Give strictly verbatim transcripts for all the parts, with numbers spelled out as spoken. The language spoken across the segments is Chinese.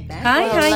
Hi Hi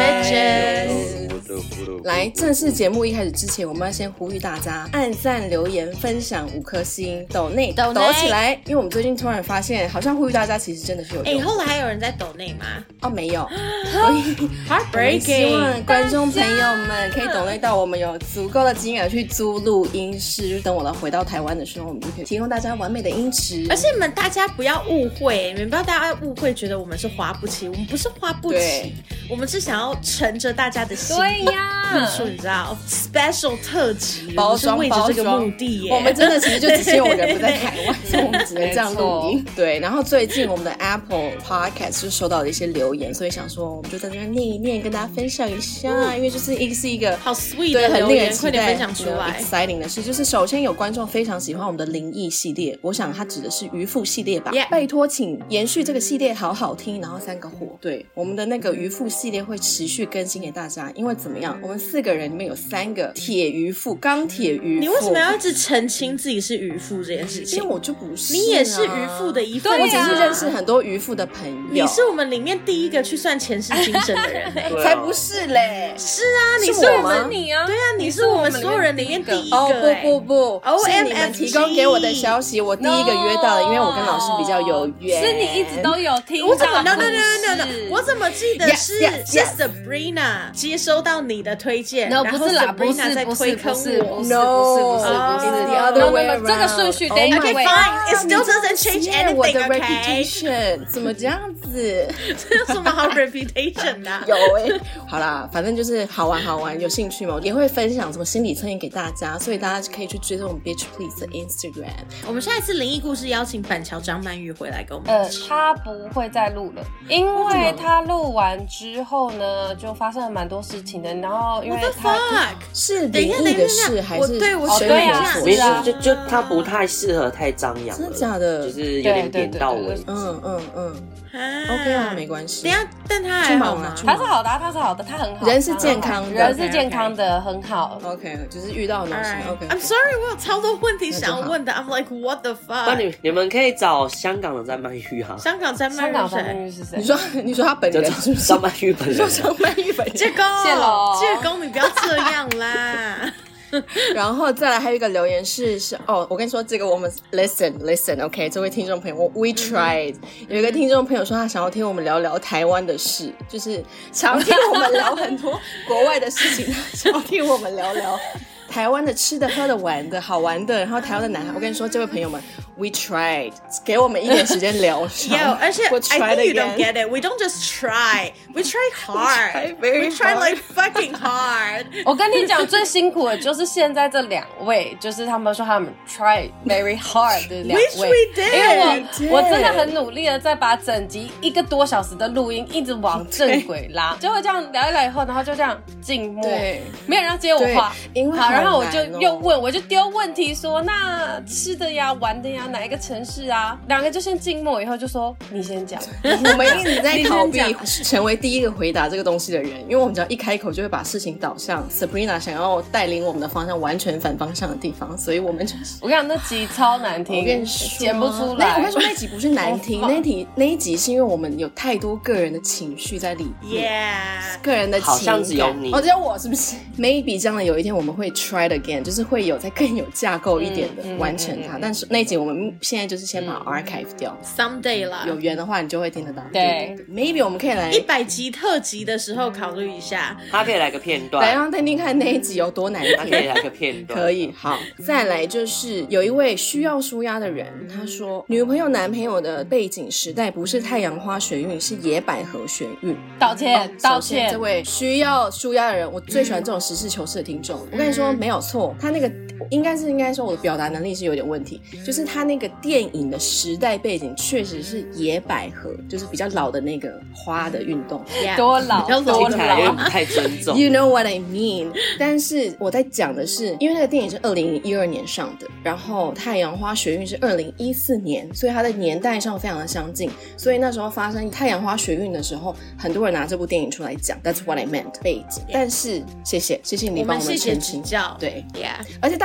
Hi， 來，正式節目一開始之前，我們要先呼籲大家按讚、留言、分享五顆星，抖內抖起來，因為我們最近突然發現，好像呼籲大家其實真的是有用。 哎、欸，後來還有人在抖內嗎？ 哦，沒有。所以 Heartbreaking， 希望觀眾朋友們可以抖內到我們有足夠的金額去租錄音室，就等我們回到台灣的時候，我們就可以提供大家完美的音質。 而且你們大家不要誤會，你們不要大家誤會，覺得我們是花不起，我們不是花不起，我們是想要乘着大家的心。 對呀， 說你知道 ，special 特輯包裝為着這個目的耶。 我們真的其實就只是因為我人不在台灣，所以我們只能這樣錄音。對，然後最近我們的 Apple Podcast 就收到了一些留言，所以想說我們就在這邊念一念，跟大家分享一下，嗯、因為就是一個是一個好 sweet 的留言，快點分享出來。 exciting 的事就是，首先有觀眾非常喜歡我們的靈異系列，我想他指的是漁夫系列吧。Yeah. 拜託，請延續這個系列，好好聽，然後三個火。對，我們的那個漁夫系列會持續更新給大家，因為怎麼樣，我們四個人裡面有三個鐵漁夫，鋼鐵漁夫。你為什麼要一直澄清自己是漁夫這件事情？ 因為我就不是、啊， 你也是漁夫的一份、啊。 我只是認識很多漁夫的朋友。 你是我們裡面第一個去算前世今生的人、欸， 才不是嘞！ 是啊，你是我們你啊，對啊，你是我們所有人裡面第一個、欸。 哦不不不，是你們提供給我的消息，我第一個約到了，因為我跟老師比較有緣。 是你一直都有聽。 我怎麼 no no no no no？我怎麼記得是 yes, yes, yes. 是 Sabrina 接收到你的推薦， no, 然後 Sabrina 在推坑我。 不是不是不是 ，no，it's the other way around。 這個順序得 OK fine，it still doesn't change anything。 我的 reputation 怎麼這樣子？ 這有什麼好 reputation 的？ 有哎、欸，好啦，反正就是好玩好玩，有興趣嘛，也會分享什麼心理測驗給大家，所以大家可以去追蹤我們 Bitch Please 的 Instagram。 我們下一次靈異故事邀請板橋張曼玉回來跟我們。 呃，他不會再錄了，因為他錄完之後呢，就發生了蠻多事情的。然後因為他是靈異的事還是對我對啊， 沒事，就就他不太適合太張揚， 真的假的？ 就是有點點到位。 嗯嗯嗯。OK 啊，沒關係。 等一下，但他還好嗎？ 他是好的，他是好的，他很好， 人是健康的， 人是健康的，很好。 OK， 就是遇到的東西。OK，I'm sorry， 我有超多問題想要問的。I'm like what the fuck？ 那你你們可以找香港的張曼玉啊。 香港張曼玉是誰？ 你說你說他本人是不是？ 張曼玉本人。 說張曼玉本人。 介公，介公，你不要這樣啦。 然後再來還有一個留言是是哦，我跟你說這個我們 listen listen OK， 這位聽眾朋友，我 we tried、嗯、有一個聽眾朋友說他想要聽我們聊聊台灣的事，就是想要聽我們聊很多國外的事情，想要聽我們聊聊台灣的吃的喝的玩的好玩的，然後台灣的男孩，我跟你說這位朋友們 we tried， 給我們一點時間聊。 有，而且 I think you don't get it. We don't just try. We try hard. We try, we try like fucking hard. 我跟你講，最辛苦的就是現在這兩位，就是他們說他們 try very hard 的兩位。 Which we did. 因為我我真的很努力的在把整集一個多小時的錄音一直往正軌拉，結果這樣聊一聊以後，然後就這樣靜默，沒有人要接我話。因為好，然後我就又問，我就丟問題說，那吃的呀、玩的呀，哪一個城市啊？兩個就先靜默，以後就說你先講。 我們一直在逃避成為第一個回答這個東西的人，因為我們只要一開口就會把事情導向 Sabrina 想要帶領我們的方向完全反方向的地方，所以我們就是我跟你講，那集超難聽，我跟你說剪不出來。 我跟你說那集不是難聽，那集那一集是因為我們有太多個人的情緒在裡面， yeah. 個人的情感。 好像只有你， 哦，只有我是不是 ？Maybe 將來有一天我們會 try it again， 就是會有再更有架構一點的完成它。嗯嗯嗯嗯、但是那一集我們現在就是先把 archive 掉 ，someday 啦， 有緣的話你就會聽得到。 對， 對對對 ，Maybe 我們可以來一百集特輯的時候考慮一下， 他可以來個片段， 來讓聽聽看那一集有多難聽。 他可以來個片段， 可以。好，再來就是有一位需要紓壓的人，他說女朋友男朋友的背景時代不是太陽花學運，是野百合學運。 道歉，哦、道歉。 這位需要紓壓的人，我最喜歡這種實事求是的聽眾。嗯、我跟你說，沒有錯，他那個應該是應該說我的表達能力是有點問題，就是他那個電影的時代背景確實是野百合，就是比較老的那個花的運動。 Yeah, 多老，多老， 太尊重。 You know what I mean？ 但是我在講的是，因為那個電影是二零一二年上的，然後太陽花學運是二零一四年，所以它的年代上非常的相近。所以那時候發生太陽花學運的時候，很多人拿這部電影出來講。That's what I meant 背景。Yeah. 但是謝謝謝謝你幫我們澄清。 教對 ，Yeah。 而且大家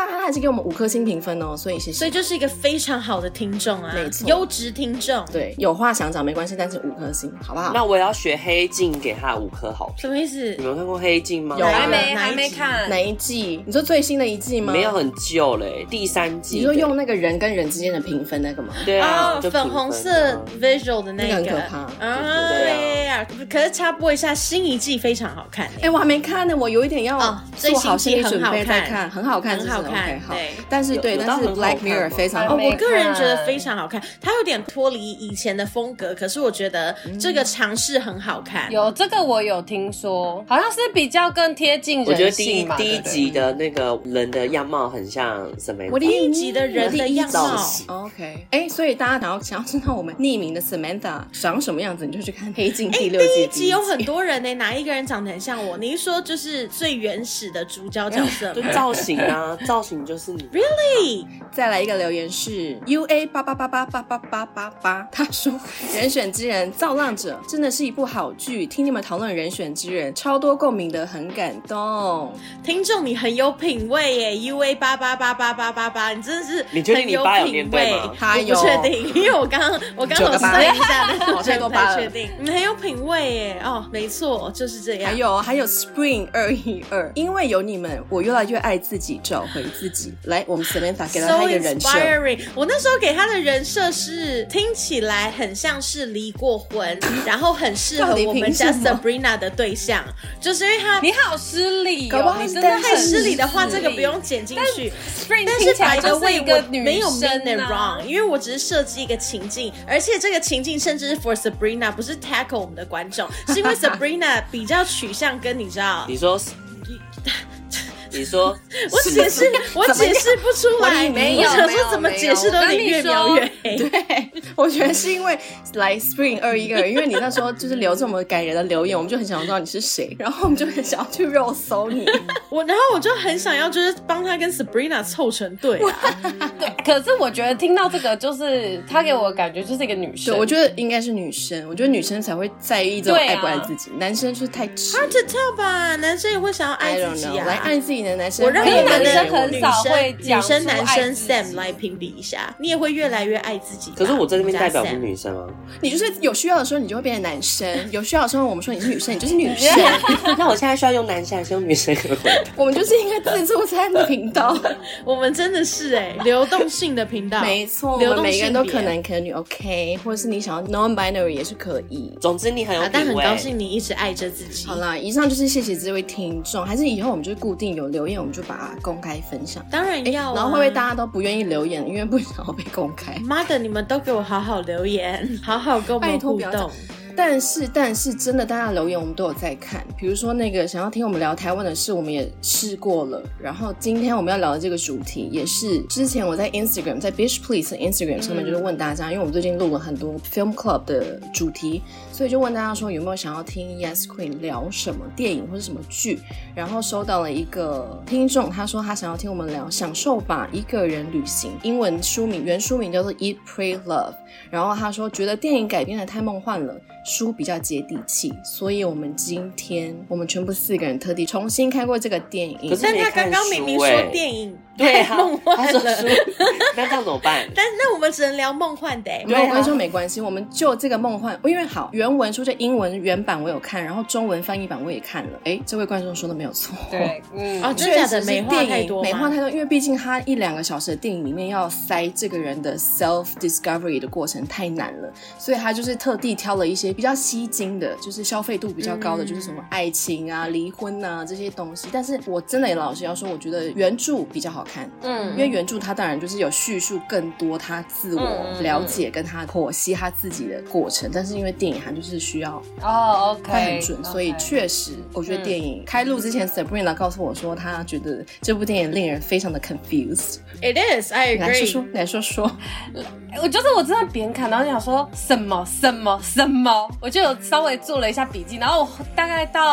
他還是給我們五顆星評分哦，所以謝謝。 所以就是一個非常好的聽眾啊， 沒錯， 優質聽眾。 對，有話想講沒關係，但是五顆星，好不好？ 那我也要學黑鏡，給他五顆好評。 什麼意思？ 你們有看過黑鏡嗎？ 有， 還沒還沒看哪一季？你說最新的一季嗎？ 沒有，很舊嘞，第三季。 你說用那個人跟人之間的評分那個嗎？ 對啊， 哦，粉紅色 visual 的那個， 那個很可怕啊！對呀，可是插播一下，新一季非常好看。 哎、欸，我還沒看呢，我有一點要做好心理準備再看，很好看， 很好看。 Okay, 好對， 但是對，但是 Black Mirror 非常好， 哦，我個人覺得非常好看，它有點脫離以前的風格，可是我覺得這個嘗試很好看。 有這個我有聽說，好像是比較更貼近人性嘛。 我覺得第一第一集的那個人的樣貌很像什麼？ 我第一集的人的樣貌。 OK， 哎、欸，所以大家想要想要知道我們匿名的 Samantha 長什麼樣子，你就去看《黑鏡》第六季。 欸、第一集有很多人呢、欸，哪一個人長得很像我？你一說就是最原始的主角角色， 就造型啊，造型就是你。 Really？ 再來一個留言是 U A 八八八八八八八八八，他說《人選之人造浪者》真的是一部好劇，聽你們討論《人選之人》，超多共鳴的，很感動。 聽眾你很有品味耶 ，U A 八八八八八八八，你真的是你確定你八有念對嗎？ 他有， 我不確定，因為我剛剛我剛剛有算一下，但是我太不太確定。你很有品味耶，哦，沒錯，就是這樣。 還有還有 Spring 二一二，因為有你們，我越來越愛自己，找回自己。來，我們 Samantha 給了他一個人設。So inspiring。我那時候給他的人設是聽起來很像是離過婚，然後很適合我們家 Sabrina 的對象，就是因為他你好失禮哦，你真的太失禮的話，這個不用剪進去。 但, 但是白的為一個女生、啊、 沒有 mean it wrong， 因為我只是設計一個情境，而且這個情境甚至是 for Sabrina， 不是 tackle 我們的觀眾，是因為 Sabrina 比較取向跟你知道， 你說。你說， 我解釋，我解釋不出來。 沒有， 我想說怎麼解釋都得越描越黑。 對，我覺得是因為來 Spring 二一個人，因為你那時候就是留這麼感人的留言，我們就很想知道你是誰，然後我們就很想要去肉搜你。 我，然後我就很想要就是幫他跟 Sabrina 湊成對啊。 對，可是我覺得聽到這個，就是他給我的感覺就是一個女生。 對，我覺得應該是女生，我覺得女生才會在意這種愛不愛自己，啊、男生就是太直。 Hard to tell 吧，男生也會想要愛自己啊， 來愛自己。男生我認為男生很少會女生男生 Sam 來評比一下，你也會越來越愛自己。 可是我在這邊代表是女生啊， 你就是有需要的時候你就會變成男生，有需要的時候我們說你是女生，你就是女生。 那我現在需要用男生還是用女生？ 我們就是一個自助餐的頻道， 我們真的是哎、欸，流動性的頻道。 沒錯，我們每個人都可男可女 ，OK， 或者是你想要 non-binary 也是可以。 總之你很有品味、啊、 但很高興你一直愛着自己。 好啦，以上就是謝謝這位聽眾，還是以後我們就固定有留言，我們就把它公開分享。 當然要、啊欸， 然後會不會大家都不願意留言，因為不想要被公開？ 媽的，你們都給我好好留言，好好跟我們互動。 但是，但是真的，大家留言我們都有在看。比如說那個想要聽我們聊台灣的事，我們也試過了。然後今天我們要聊的這個主題，也是之前我在 Instagram， 在 Bitch Please 的 Instagram 上面就是問大家，嗯、因為我們最近錄了很多 Film Club 的主題，所以就問大家說有沒有想要聽 Yes Queen 聊什麼電影或是什麼劇。然後收到了一個聽眾，他說他想要聽我們聊享受吧一個人旅行，英文書名原書名叫做 Eat Pray Love。然後他說覺得電影改編的太夢幻了，書比較接地氣，所以我們今天我們全部四個人特地重新看過這個電影。 可是沒看書欸， 但他剛剛明明說電影對太夢幻了， 那這樣怎麼辦？ 但那我們只能聊夢幻的欸。 沒有，我跟你說沒關係，我們就這個夢幻，因為好原文書就英文原版我有看，然後中文翻譯版我也看了。哎，這位觀眾說的沒有錯， 對，嗯， 哦，真的假的？美化太多， 美化太多，因為畢竟他一兩個小時的電影裡面要塞這個人的 self discovery 的過程太難了，所以他就是特地挑了一些比較吸睛的，就是消費度比較高的，嗯、就是什麼愛情啊、離婚啊這些東西。但是我真的也老實要說，我覺得原著比較好看，嗯，因為原著他當然就是有敘述更多他自我了解跟他剖析他自己的過程，嗯、但是因為電影它就是需要哦 OK 快很準，所以確實我覺得電影、嗯、開錄之前 Sabrina 告訴我說他覺得這部電影令人非常的 confused。 It is, I agree。 來說說來說說， 我就是我真的邊看然後想說什麼什麼什麼，我就有稍微做了一下筆記，然後我大概到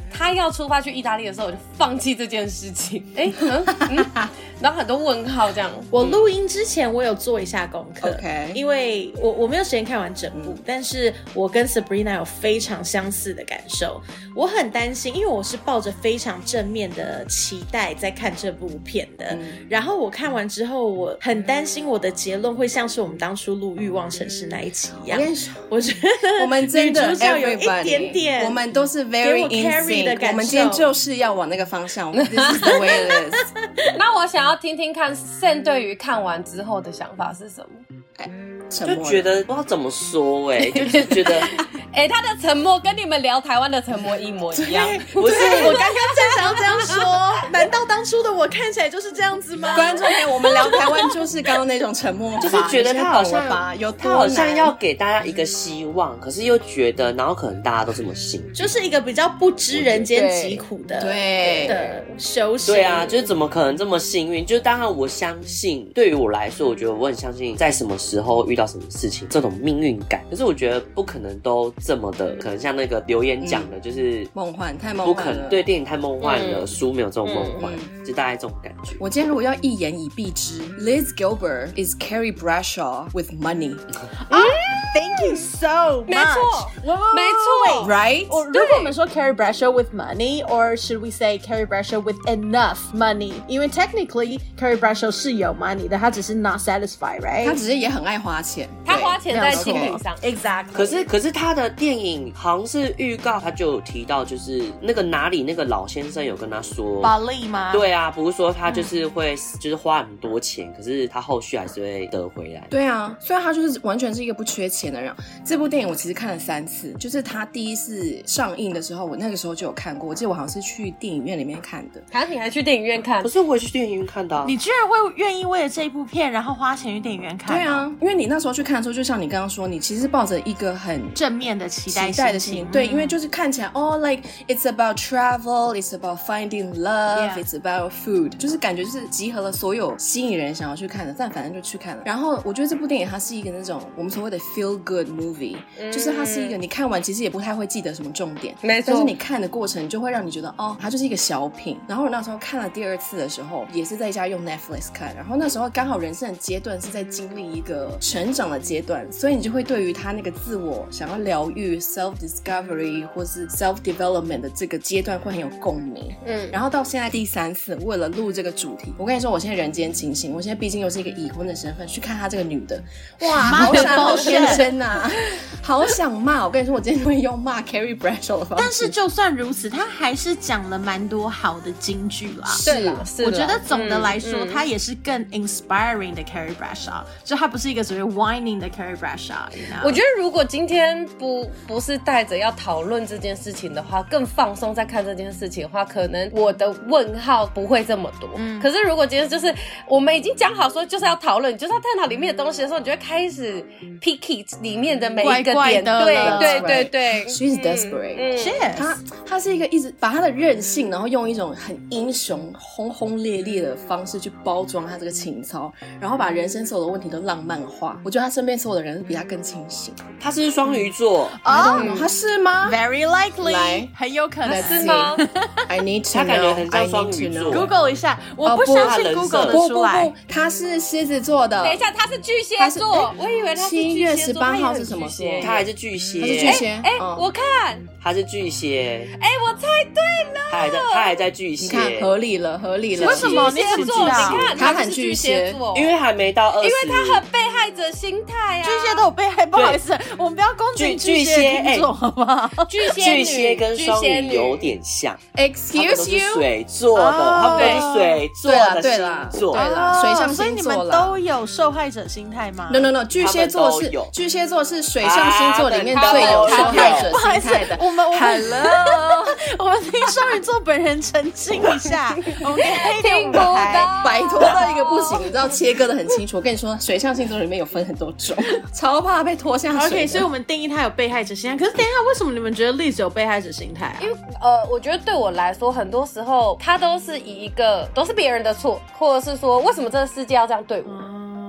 他要出發去意大利的時候，我就放棄這件事情。哎、欸，嗯嗯，然後很多問號這樣。 我錄音之前我有做一下功課 ，OK， 因為我我沒有時間看完整部，嗯、但是我跟 Sabrina 有非常相似的感受。我很擔心，因為我是抱着非常正面的期待在看這部片的，嗯、然後我看完之後，我很擔心我的結論會像是我們當初錄《慾望城市》那一集一樣。我跟你說，我覺得我們真的女主角有一點點， 我們都是 very in sync 的感受。我們今天就是要往那個方向。This is the way it is 那我想要聽聽看 Sam 對於看完之後的想法是什麼？ 欸、 就覺得不知道怎麼說哎、欸，就是覺得哎、欸，他的沉默跟你們聊台灣的沉默一模一樣。 不是，我剛剛正想要這樣說，難道當初的我看起來就是這樣子嗎？ 觀眾朋友，我們聊台灣就是剛剛那種沉默， 就是覺得他好像吧，有他好像要給大家一個希望，可是又覺得，然後可能大家都這麼幸運， 就是一個比較不知人間疾苦的對的修行。 對啊，就是怎麼可能這麼幸運？就是當然我相信，對於我來說，我覺得我很相信，在什麼時候遇到什麼事情，這種命運感。可是我覺得不可能都這麼的，可能像那個留言講的，嗯、就是夢幻，太夢幻了， 不可能。對，電影太夢幻了，書、嗯、沒有這種夢幻，嗯嗯、就大概這種感覺。 我今天如果要一言以蔽之 ，Liz Gilbert is Carrie Bradshaw with money。 啊 Thank you so much。 沒錯，沒錯 ，right？ 如果我們說 Carrie Bradshaw with money，or should we say Carrie Bradshaw with enough money？因為 technically Carrie Bradshaw 是有 money 的，他只是 not satisfied，right？ 他只是也很愛花錢， 他花錢在精品上 ，exactly。 可是可是他的電影好像是預告，他就有提到，就是那個哪裡那個老先生有跟他說， 保利嗎？ 對啊，不是說他就是會、嗯、就是花很多錢，可是他後續還是會得回來。 對啊，所以他就是完全是一個不缺錢的人。這部電影我其實看了三次，就是他第一次上映的時候，我那個時候就有看過。我記得我好像是去電影院裡面看的。 啊，你還去電影院看？ 不是，我也去電影院看的、啊。 你居然會願意為了這一部片，然後花錢去電影院看、啊？ 對啊，因為你那時候去看的時候，就像你剛剛說，你其實是抱着一個很正面的期待期待的心情。對，因為就是看起來哦、oh, ，like it's about travel, it's about finding love, yeah. it's about food， 就是感覺就是集合了所有吸引人想要去看的，但反正就去看了。然後我覺得這部電影它是一個那種我們所謂的 feel good movie。就是它是一個你看完其實也不太會記得什麼重點，沒錯。但是你看的過程就會讓你覺得哦，它就是一個小品。然後我那時候看了第二次的時候，也是在家用 Netflix 看。然後那時候剛好人生的階段是在經歷一個成長的階段，所以你就會對於他那個自我想要療癒 self discovery 或是 self development 的這個階段會很有共鳴。嗯，然後到現在第三次，為了錄這個主題，我跟你說，我現在人間清醒。我現在畢竟又是一個已婚的身份，去看他這個女的，哇，好閃好天真啊！好想罵，我跟你說，我今天會用罵 Carrie Bradshaw 的方式。 但是就算如此，他還是講了蠻多好的金句啦。 是啦，是啦。 我覺得總的來說，他、嗯嗯、也是更 inspiring 的 Carrie Bradshaw，就他不是一個所謂 whining 的 Carrie Bradshaw。You know? 我覺得如果今天不不是帶着要討論這件事情的話，更放鬆在看這件事情的話，可能我的問號不會這麼多。嗯。可是如果今天就是我們已經講好說就是要討論，就是要探討裡面的東西的時候，你就會開始 picky 裡面的每一個點。 怪怪的對對對對 ，She's desperate。嗯，她她是一個一直把她的任性，然後用一種很英雄、轟轟烈烈的方式去包裝她這個情操，然後把人生所有的問題都浪漫化。我覺得她身邊所有的人比她更清醒。 她是雙魚座哦，她是嗎 ？Very likely，很有可能是嗎 ？I need to know。 她感覺很像雙魚座。 Google 一下，我不相信 Google 的出來。 不不不，她是獅子座的。 等一下，她是巨蟹座，我以為她是七月十八號是什麼座？ 她還是巨蟹。 他是巨蟹， 哎、欸欸，我看他是巨蟹， 哎、欸，我猜對了， 他還在，他還在巨蟹， 你看合理了，合理了。 為什麼？你怎麼知道？ 你看他很巨蟹， 因為還沒到二十， 因為他很被害者心態啊。 巨蟹都有被害，不好意思，我們不要攻擊巨蟹聽眾，好不好？ 巨蟹巨蟹跟雙魚有點像 ，Excuse you， 水做的，他們都是水做的星座， 對了，水象星座啦。 所以你們都有受害者心態嗎 ？No No No， 巨蟹座是巨蟹座是水象星座裡面最有受害者心態的。 我們 Hello， 我們聽雙魚座本人澄清一下，我們聽不到， 擺脫到一個不行，你知道切割的很清楚。我跟你說，水象星座裡面有分很多種，超怕被拖下水。 OK， 所以我們定義他有被害者心態。可是等一下，為什麼你們覺得 Liz 有被害者心態啊？ 因為呃，我覺得對我來說，很多時候他都是以一個都是別人的錯，或者是說為什麼這個世界要這樣對我。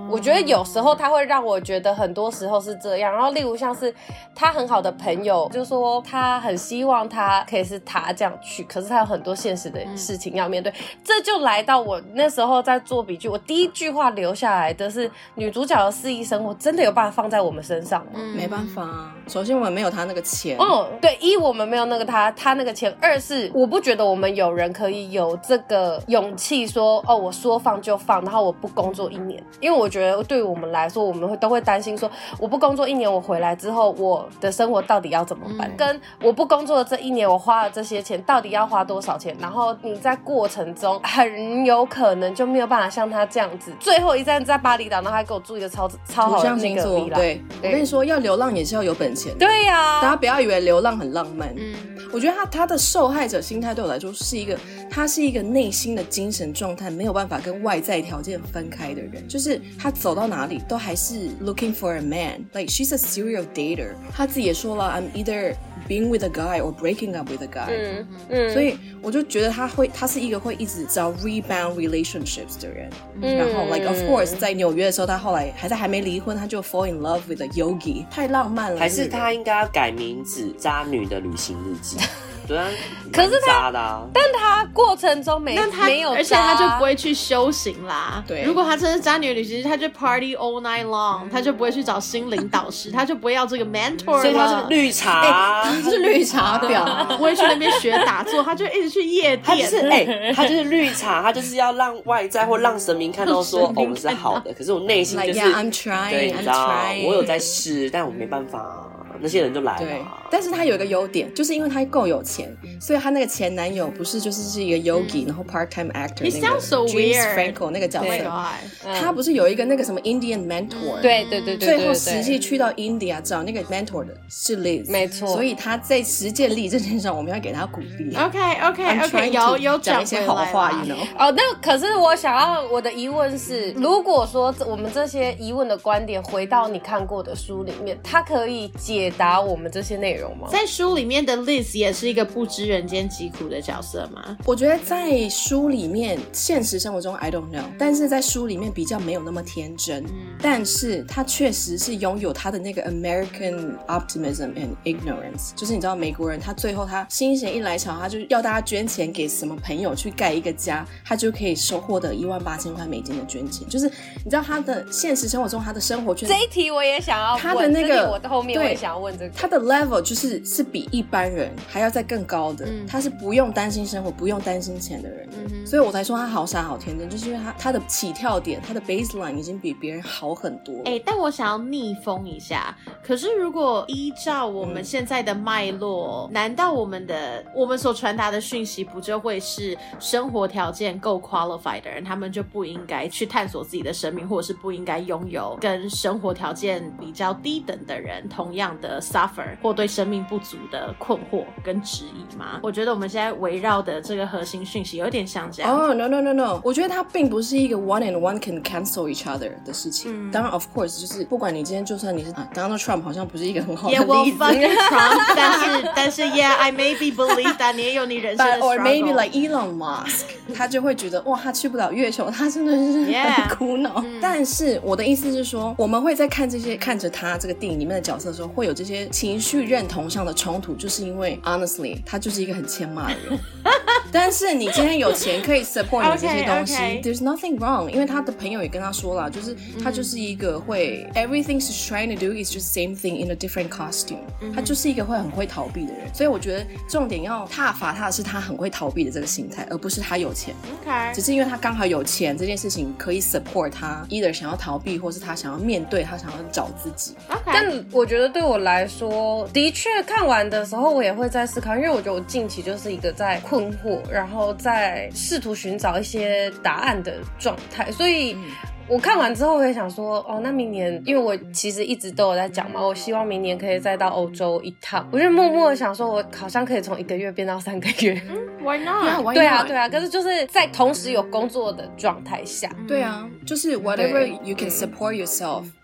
我覺得有時候他會讓我覺得很多時候是這樣。然後例如像是他很好的朋友就說他很希望他可以是他這樣去，可是他有很多現實的事情要面對、嗯、這就來到我那時候在做筆記，我第一句話留下來的是女主角的肆意生活真的有辦法放在我們身上嗎？ 嗯、沒辦法啊，首先我們沒有他那個錢。 哦、嗯，對，一我們沒有那個他他那個錢，二是我不覺得我們有人可以有這個勇氣說哦我說放就放，然後我不工作一年，因為我覺得對於我們來說我們會都會擔心說我不工作一年我回來之後我的生活到底要怎麼辦、嗯、跟我不工作的這一年我花了這些錢到底要花多少錢，然後你在過程中很有可能就沒有辦法像他這樣子最後一站在巴厘島，然後還給我住一個超超好的那個 villa。 對，我跟你說要流浪也是要有本錢。 對呀、啊， 大家不要以為流浪很浪漫。嗯，我覺得他他的受害者心態對我來說是一個他是一個內心的精神狀態沒有辦法跟外在條件分開的人，就是他走到哪裡都還是 looking for a man, like she's a serial dater。 他自己也說了 I'm either being with a guy or breaking up with a guy。 嗯嗯，所以我就覺得他会他是一個會一直找 rebound relationships 的人。嗯，然後 like of course 在紐約的時候他後來還在還沒離婚他就 fall in love with a yogi， 太浪漫了。 還是他應該要改名字渣女的旅行日記。对啊， 可是他， 啊、 但他過程中没他沒有渣， 而且他就不會去修行啦。 對， 如果他真是渣女旅行，他就 party all night long，、嗯、他就不會去找心靈導師，他就不會要這個 mentor 了。 所以他是綠茶， 欸、他是綠茶婊， 不會去那邊學打坐，他就一直去夜店。 他就是哎、欸，他就是綠茶，他就是要讓外在或讓神明看到說，哦，我們是好的，可是我內心就是 like, yeah, I'm trying, 對，你知道 I'm trying. 我有在試，但我沒辦法。那些人就來了。 對，但是他有一個優點，就是因為他夠有錢，所以他那個前男友不是就是是一個 yogi，、嗯、然後 part-time actor 那個 so James Franco 那個角色， oh、 他不是有一個那個什麼 Indian mentor？、嗯、 對對對對， 最後實際去到 India 找那個 mentor 的是 Liz， 沒錯。 所以他在實踐力這件事上，我們要給他鼓勵。 OK OK OK， 有有講一些好話 ，you know？ 哦，那可是我想要我的疑問是，如果說我們這些疑問的觀點回到你看過的書裡面，它可以解答我們這些內容嗎？ 在書裡面的 Liz 也是一個不知人間疾苦的角色嗎？ 我覺得在書裡面，現實生活中 I don't know， 但是在書裡面比較沒有那麼天真，嗯、但是他確實是擁有他的那個 American optimism and ignorance， 就是你知道美國人他最後他心血一來潮，他就要大家捐錢給什麼朋友去蓋一個家，他就可以收獲得一萬八千塊美金的捐錢，就是你知道他的現實生活中他的生活圈， 這一題我也想要問， 他的那個我的後面我也想要問這個， 他的 level 就是是比一般人還要再更高的、嗯、他是不用擔心生活不用擔心錢的人、嗯、所以我才說他好傻好天真，就是因為他他的起跳點他的 baseline 已經比別人好很多了、 欸、但我想要逆風一下，可是如果依照我們現在的脈絡、嗯、難道我們的我們所傳達的訊息不就會是生活條件夠 qualified 的人他們就不應該去探索自己的生命，或者是不應該擁有跟生活條件比較低等的人同樣的 suffer 或對生命不足的困惑跟質疑嗎？我覺得我們現在圍繞的這個核心訊息有點像這樣。 哦、oh, no no no no， 我覺得它並不是一個 one and one can cancel each other 的事情、嗯、當然 of course 就是不管你今天就算你是、啊、Donald Trump 好像不是一個很好的例子 Yeah well fucking Trump 但是但是 yeah I maybe believe that 你也有你人生的 struggle But, or maybe like Elon Musk 他就會覺得哇他去不了月球他真的是很苦惱、yeah. 但是我的意思是說我們會在看這些看着他這個電影裡面的角色的時候會有這些情緒認同上的衝突，就是因為 honestly 他就是一個很欠罵的人但是你今天有錢可以 support 你這些東西 okay, okay. There's nothing wrong， 因為他的朋友也跟他說了，就是他就是一個會、嗯、everything she's trying to do is just same thing in a different costume、嗯、他就是一個會很會逃避的人，所以我覺得重點要撻伐他的是他很會逃避的這個心態，而不是他有錢、okay. 只是因為他剛好有錢這件事情可以 support 他 either 想要逃避或是他想要面對他想要找自己、 okay. 但我覺得對我來說的確看完的時候我也會在思考，因為我覺得我近期就是一個在困惑然後在試圖尋找一些答案的狀態，所以我看完之後我也想說哦，那明年因為我其實一直都有在講嘛，我希望明年可以再到歐洲一趟，我就默默的想說我好像可以從一個月變到三個月、嗯、 Why not? Yeah, why 對啊對啊，可是就是在同時有工作的狀態下、 嗯、對啊就是 whatever you can support yourself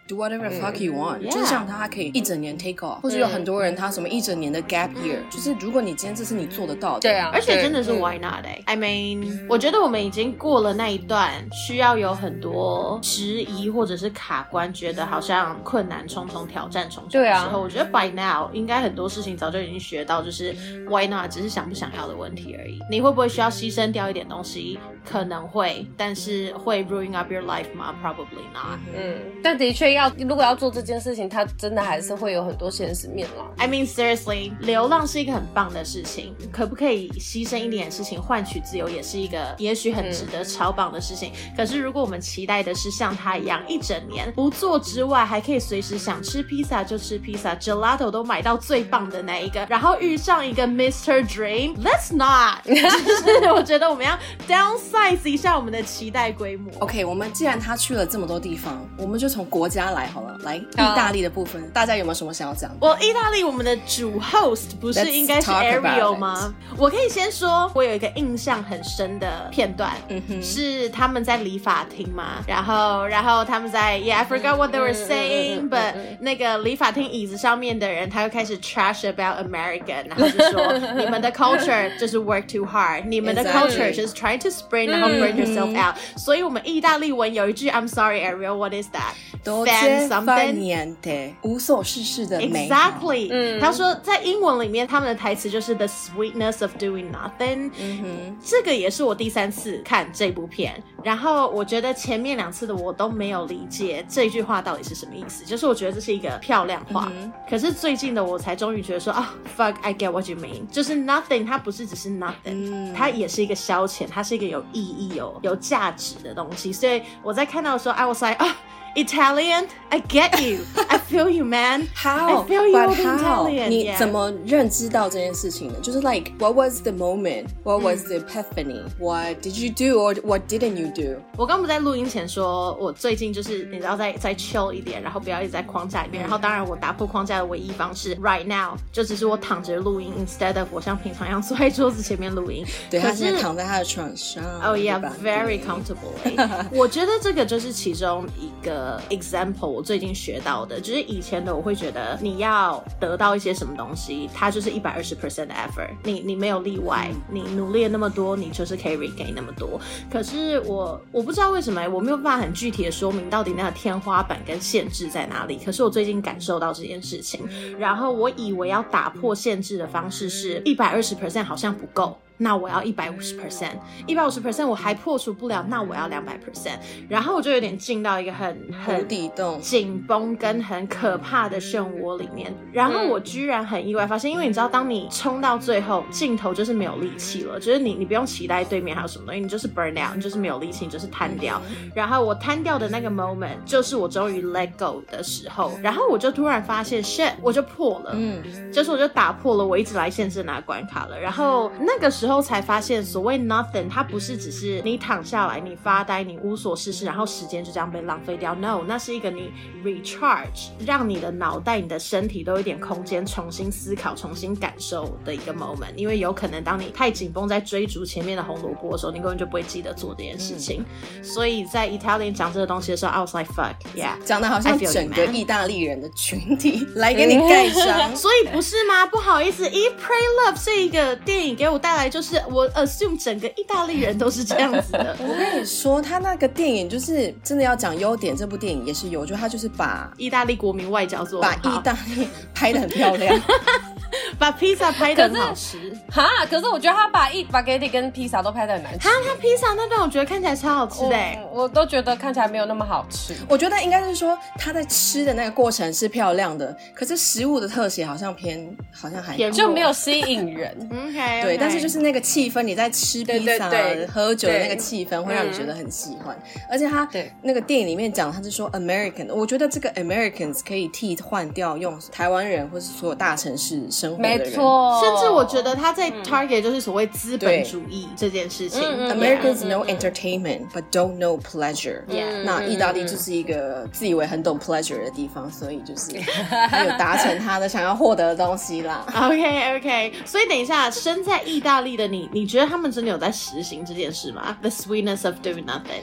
do whatever the fuck you want、嗯、就是像他可以一整年 take off、嗯、或者有很多人他什麼一整年的 gap year、嗯、就是如果你今天這是你做得到的， 对啊， 而且真的是 why not、欸、I mean、嗯、我覺得我們已經過了那一段需要有很多質疑或者是卡關，覺得好像困難重重挑戰重重的時候、啊、我覺得 by now 應該很多事情早就已經學到，就是 why not 只是想不想要的問題而已。你會不會需要犧牲掉一點東西？可能會，但是會 ruin up your life 嗎？ Probably not。 嗯，但的確要如果要做這件事情，它真的還是會有很多現實面啦。 I mean seriously， 流浪是一個很棒的事情，可不可以犧牲一點事情換取自由，也是一個也許很值得超棒的事情、嗯、可是如果我們期待的是像他一樣一整年不做之外，還可以隨時想吃披薩就吃披薩， gelato 都買到最棒的那一個，然後遇上一個 Mister Dream， Let's not 就是我覺得我們要 downsize 一下我們的期待規模。 OK， 我們既然他去了這麼多地方，我們就從國家來好了。來，意大利的部分、oh. 大家有沒有什麼想要講的？ 我意大利我們的主 host 不是應該是 Ariel 嗎？我可以先說我有一個印象很深的片段、mm-hmm. 是他們在理髮廳嘛，然後然後他們在 Yeah I forgot what they were saying、mm-hmm. but 那個理髮廳椅子上面的人他就開始 trash about American， 然後就說你們的 culture 就是 work too hard， 你們的 culture 就是 trying to spray、mm-hmm. 然後 burn yourself out、mm-hmm. 所以我們意大利文有一句 I'm sorry Ariel what is that Fan something 無所事事的美好 Exactly、嗯、他說在英文裡面他們的台詞就是 the sweetness of doing nothing、嗯、這個也是我第三次看這部片，然後我覺得前面兩次的我都沒有理解這句話到底是什麼意思，就是我覺得這是一個漂亮話、嗯、可是最近的我才終於覺得說啊、oh, fuck I get what you mean， 就是 nothing 它不是只是 nothing、嗯、它也是一個消遣，它是一個有意義有有價值的東西，所以我在看到的時候 I was like 啊、oh, Italian, I get you. I feel you, man. How? I feel you But Italian. 你怎麼認知到這件事情的？就是 like, what was the moment? What was the epiphany? What did you do or what didn't you do? 我剛不在錄音前說，我最近就是你知道再再 chill 一點，然後不要一直在框架裡面。然後當然我打破框架的唯一方式 right now 就只是我躺着錄音 instead of 我像平常一樣坐在桌子前面錄音。 對，他現在躺在他的床上。 Oh yeah, very comfortably. 我覺得這個就是其中一個example 我最近學到的，就是以前的我會覺得你要得到一些什麼東西，它就是 百分之百 的 effort， 你你沒有例外，你努力了那麼多，你就是可以 regain 那麼多。可是我我不知道為什麼我沒有辦法很具體的說明到底那個天花板跟限制在哪裡，可是我最近感受到這件事情，然後我以為要打破限制的方式是 百分之百 好像不夠，那我要 百分之百， 百分之百 我還破除不了，那我要 兩百 percent， 然後我就有點進到一個很很無底洞緊繃跟很可怕的漩渦裡面，然後我居然很意外發現，因為你知道當你衝到最後盡頭就是沒有力氣了，就是你你不用期待對面還有什麼東西，你就是 burn out， 你就是沒有力氣，你就是癱掉，然後我癱掉的那個 moment 就是我終於 let go 的時候，然後我就突然發現 shit 我就破了，嗯，就是我就打破了我一直來限制那個關卡了，然後那個時候之後才發現所謂 nothing 它不是只是你躺下來你發呆你無所事事然後時間就這樣被浪費掉， no 那是一個你 recharge 讓你的腦袋你的身體都有一點空間重新思考重新感受的一個 moment， 因為有可能當你太緊繃在追逐前面的紅蘿蔔的時候你根本就不會記得做這件事情、嗯、所以在 Italian 講這個東西的時候 I was like fuck yeah 講的好像整個意大利人的群體來給你蓋章所以不是嗎？不好意思 Eat Pray Love 這一個電影給我帶來就是我 assume 整個意大利人都是這樣子的我跟你說他那個電影就是真的要講優點，這部電影也是有，我覺得他就是把意大利國民外交做得很好， 把意大利拍得很漂亮把披薩拍得很好吃哈，可是我覺得他把一 spaghetti 跟披薩都拍得很難吃。 他他披薩那段我覺得看起來超好吃的、欸我，我都覺得看起來沒有那麼好吃。 我覺得應該是說他在吃的那個過程是漂亮的，可是食物的特寫好像偏好像還就沒有吸引人。 okay, 對， okay. 但是就是那個氣氛，你在吃披薩喝酒的那個氣氛會讓你覺得很喜歡。嗯、而且他那個電影裡面講他是說 American， 我覺得這個 Americans 可以替換掉用台灣人或是所有大城市生活的人。 沒錯。 甚至我覺得他在 target 就是所謂資本主義這件事情、 嗯、Americans know entertainment but don't know pleasure、yeah. 那意大利就是一個自以為很懂 pleasure 的地方，所以就是他有達成他的想要獲得的東西啦 OK OK 所以等一下身在意大利的你你覺得他們真的有在實行這件事嗎？ The sweetness of doing nothing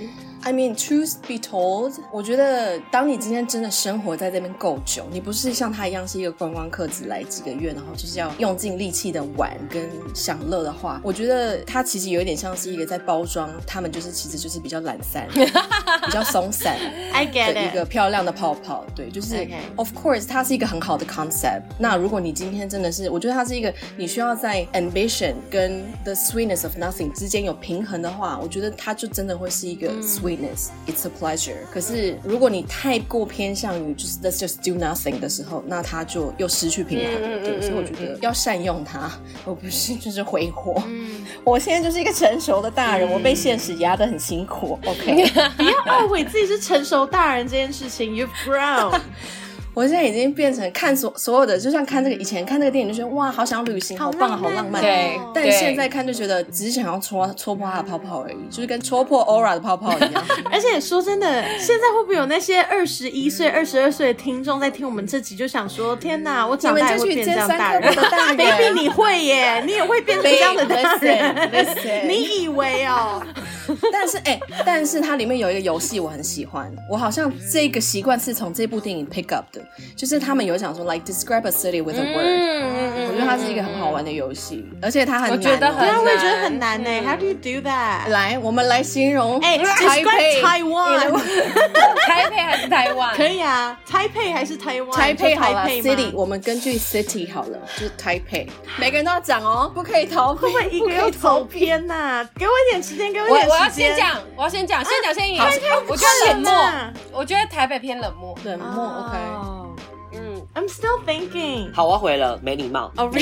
I mean, truth be told， 我覺得當你今天真的生活在這邊夠久，你不是像他一樣是一個觀光客，只來幾個月，然後就是要用盡力氣的玩跟享樂的話，我覺得他其實有一點像是一個在包裝他們就是其實就是比較懶散比較鬆散的一個漂亮的泡泡。對，就是、okay. of course 它是一個很好的 concept。那如果你今天真的是，我覺得它是一個你需要在 ambition 跟 the sweetness of nothing 之間有平衡的話，我覺得它就真的會是一個 sweetness、嗯、it's a pleasure。可是如果你太過偏向於就是 let's just do nothing 的時候，那它就又失去平衡了、嗯、對、嗯，所以我覺得要善用它，而不是就是揮霍、嗯、我現在就是一個成熟的大人、嗯、我被現實壓得很辛苦 OK 不要懊悔自己是成熟大人這件事情You've grown 我現在已經變成看所所有的，就像看這個以前看這個電影就覺得哇好想要旅行，好棒好浪漫， 對， 但現在看就覺得只是想要戳戳破它的泡泡而已，就是跟戳破 Aura 的泡泡一樣而且說真的，現在會不會有那些二十一歲二十二歲的聽眾在聽我們這集就想說天哪，我長大也會變這樣大人baby 你會耶，你也會變成這樣的大人 listen, listen. 你以為哦但是哎、欸，但是它裡面有一個遊戲我很喜歡，我好像這個習慣是從這部電影 pick up 的，就是他們有講說 like describe a city with a word、嗯、我覺得它是一個很好玩的遊戲、嗯、而且它很難、喔、 我覺得很難， 我也覺得很難、欸嗯、How do you do that？ 來我們來形容哎、欸、，describe Taiwan 台北還是台灣可以啊，台北還是台灣， 台北好了 city 我們根據 city 好了，就是台北每個人都要講哦，不可以逃避， 會不會一個又走偏吶、啊？給我一點時間，給我一點時間。 我要先講，我要先講，先講先贏。我覺得冷漠，我覺得台北偏冷漠， 冷漠。 Oh, OK， 嗯 ，I'm still thinking。 好，我回了，沒禮貌。 Oh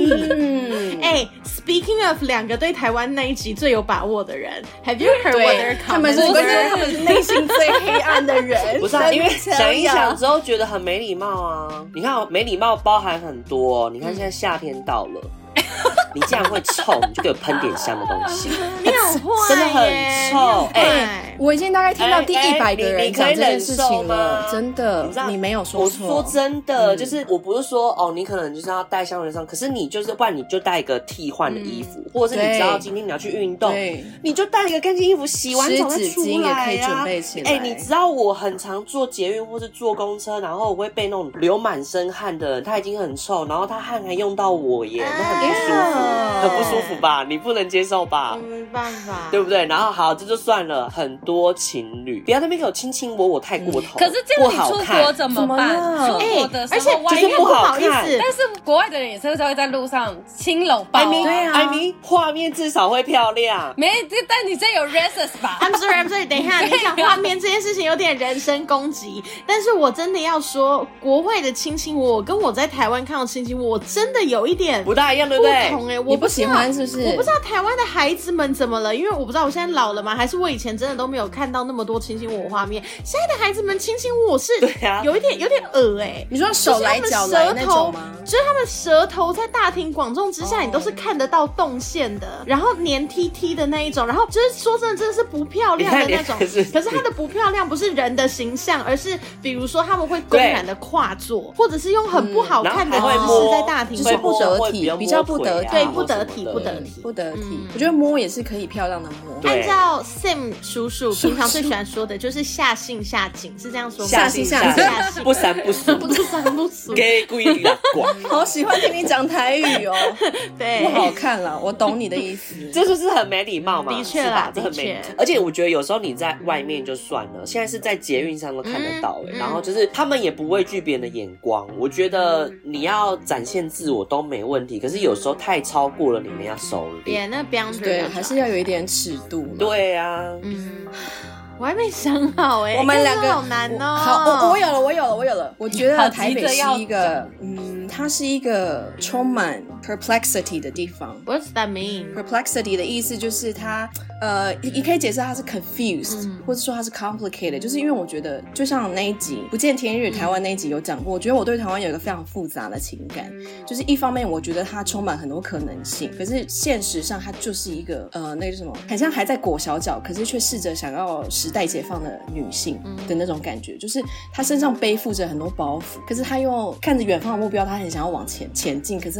really？ 哎、欸、，Speaking of 兩個對台灣那一集最有把握的人 ，Have you heard what their comments？ 他們是他們是內心最黑暗的人。 不是、啊，因為想一想之後覺得很沒禮貌啊。你看，沒禮貌包含很多、哦。你看現在夏天到了。你這樣會臭，你就給我噴點香的東西。 你很壞， 真的很臭。哎、 欸，我已經大概聽到第一百個人講這件事情了，真的。你, 你沒有說錯。 我說真的、嗯，就是我不是說哦，你可能就是要帶香水上，可是你就是不然你就帶一個替換的衣服、嗯，或者是你知道今天你要去運動，你就帶一個乾淨衣服，洗完澡再出來啊。 可以準備起來。 哎、欸，你知道我很常坐捷運或是坐公車，然後我會被那種流滿身汗的人，他已經很臭，然後他汗還用到我耶，那很不舒服。很不舒服吧？你不能接受吧？ 沒辦法， 對不對？然後好，這就算了。很多情侶不要在那邊給我親親我，我太過頭。 可是這樣你出國怎麼辦？出國的時候，而且就是不好看。 但是國外的人也是會在路上親摟抱。 對啊，艾米畫面至少會漂亮。 沒，但你這有 racist 吧 ？I'm sorry, I'm sorry。等一下，你講畫面這件事情有點人身攻擊，但是我真的要說，國外的親親我，我跟我在台灣看到親親我，真的有一點不大一樣，對不對？ 不同哎、欸，我不喜歡是不是？ 我不知道台灣的孩子們怎麼了，因為我不知道我現在老了嗎？還是我以前真的都沒有看到那麼多親親我畫面？現在的孩子們親親我是有一點有點惡哎、欸。 你說手來腳來那種嗎？ 就是他們舌頭在大庭廣眾之下， oh. 你都是看得到動線的，然後黏 T T 的那一種，然後就是說真的，真的是不漂亮的那種。可是它的不漂亮不是人的形象，而是比如說他們會公然的跨坐，或者是用很不好看的姿勢在大庭廣眾， 就是不得體，比較不得體， 對，不得體，不得體。 不得体、嗯，我覺得摸也是可以漂亮的摸。 按照 Sim 叔叔平常最喜歡說的，就是下性下井，是這樣說嗎？ 下性下井，不三不四， 不三不四， 給故意的廣。 好喜歡聽你講台語哦， 對， 不好看了，我懂你的意思。 這就是很沒禮貌嘛， 的確啦， 這很沒。而且我覺得有時候你在外面就算了，現在是在捷運上都看得到、欸嗯、然後就是他們也不畏懼別人的眼光，我覺得你要展現自我都沒問題，可是有時候太超過了，你們要收斂。 Yeah, 那標準對，還是要有一點尺度。 對啊， 嗯，我還沒想好哎、欸， 我們兩個好難哦、喔。 好，我我有了，我有了，我有了。我覺得台北是一個，嗯，它是一個充滿 perplexity 的地方。 What's that mean? Perplexity 的意思就是它，呃，你可以解釋它是 confused，、嗯、或者說它是 complicated， 就是因為我覺得，就像那一集不見天日台灣那一集有講過，我覺得我對台灣有一個非常複雜的情感，就是一方面我覺得它充滿很多可能性，可是現實上它就是一個，呃，那個什麼，很像還在裹小腳，可是卻試着想要時代解放的女性的那種感覺，就是她身上背負着很多包袱，可是她又看着遠方的目標，她很想要往前前進，可是她又沒有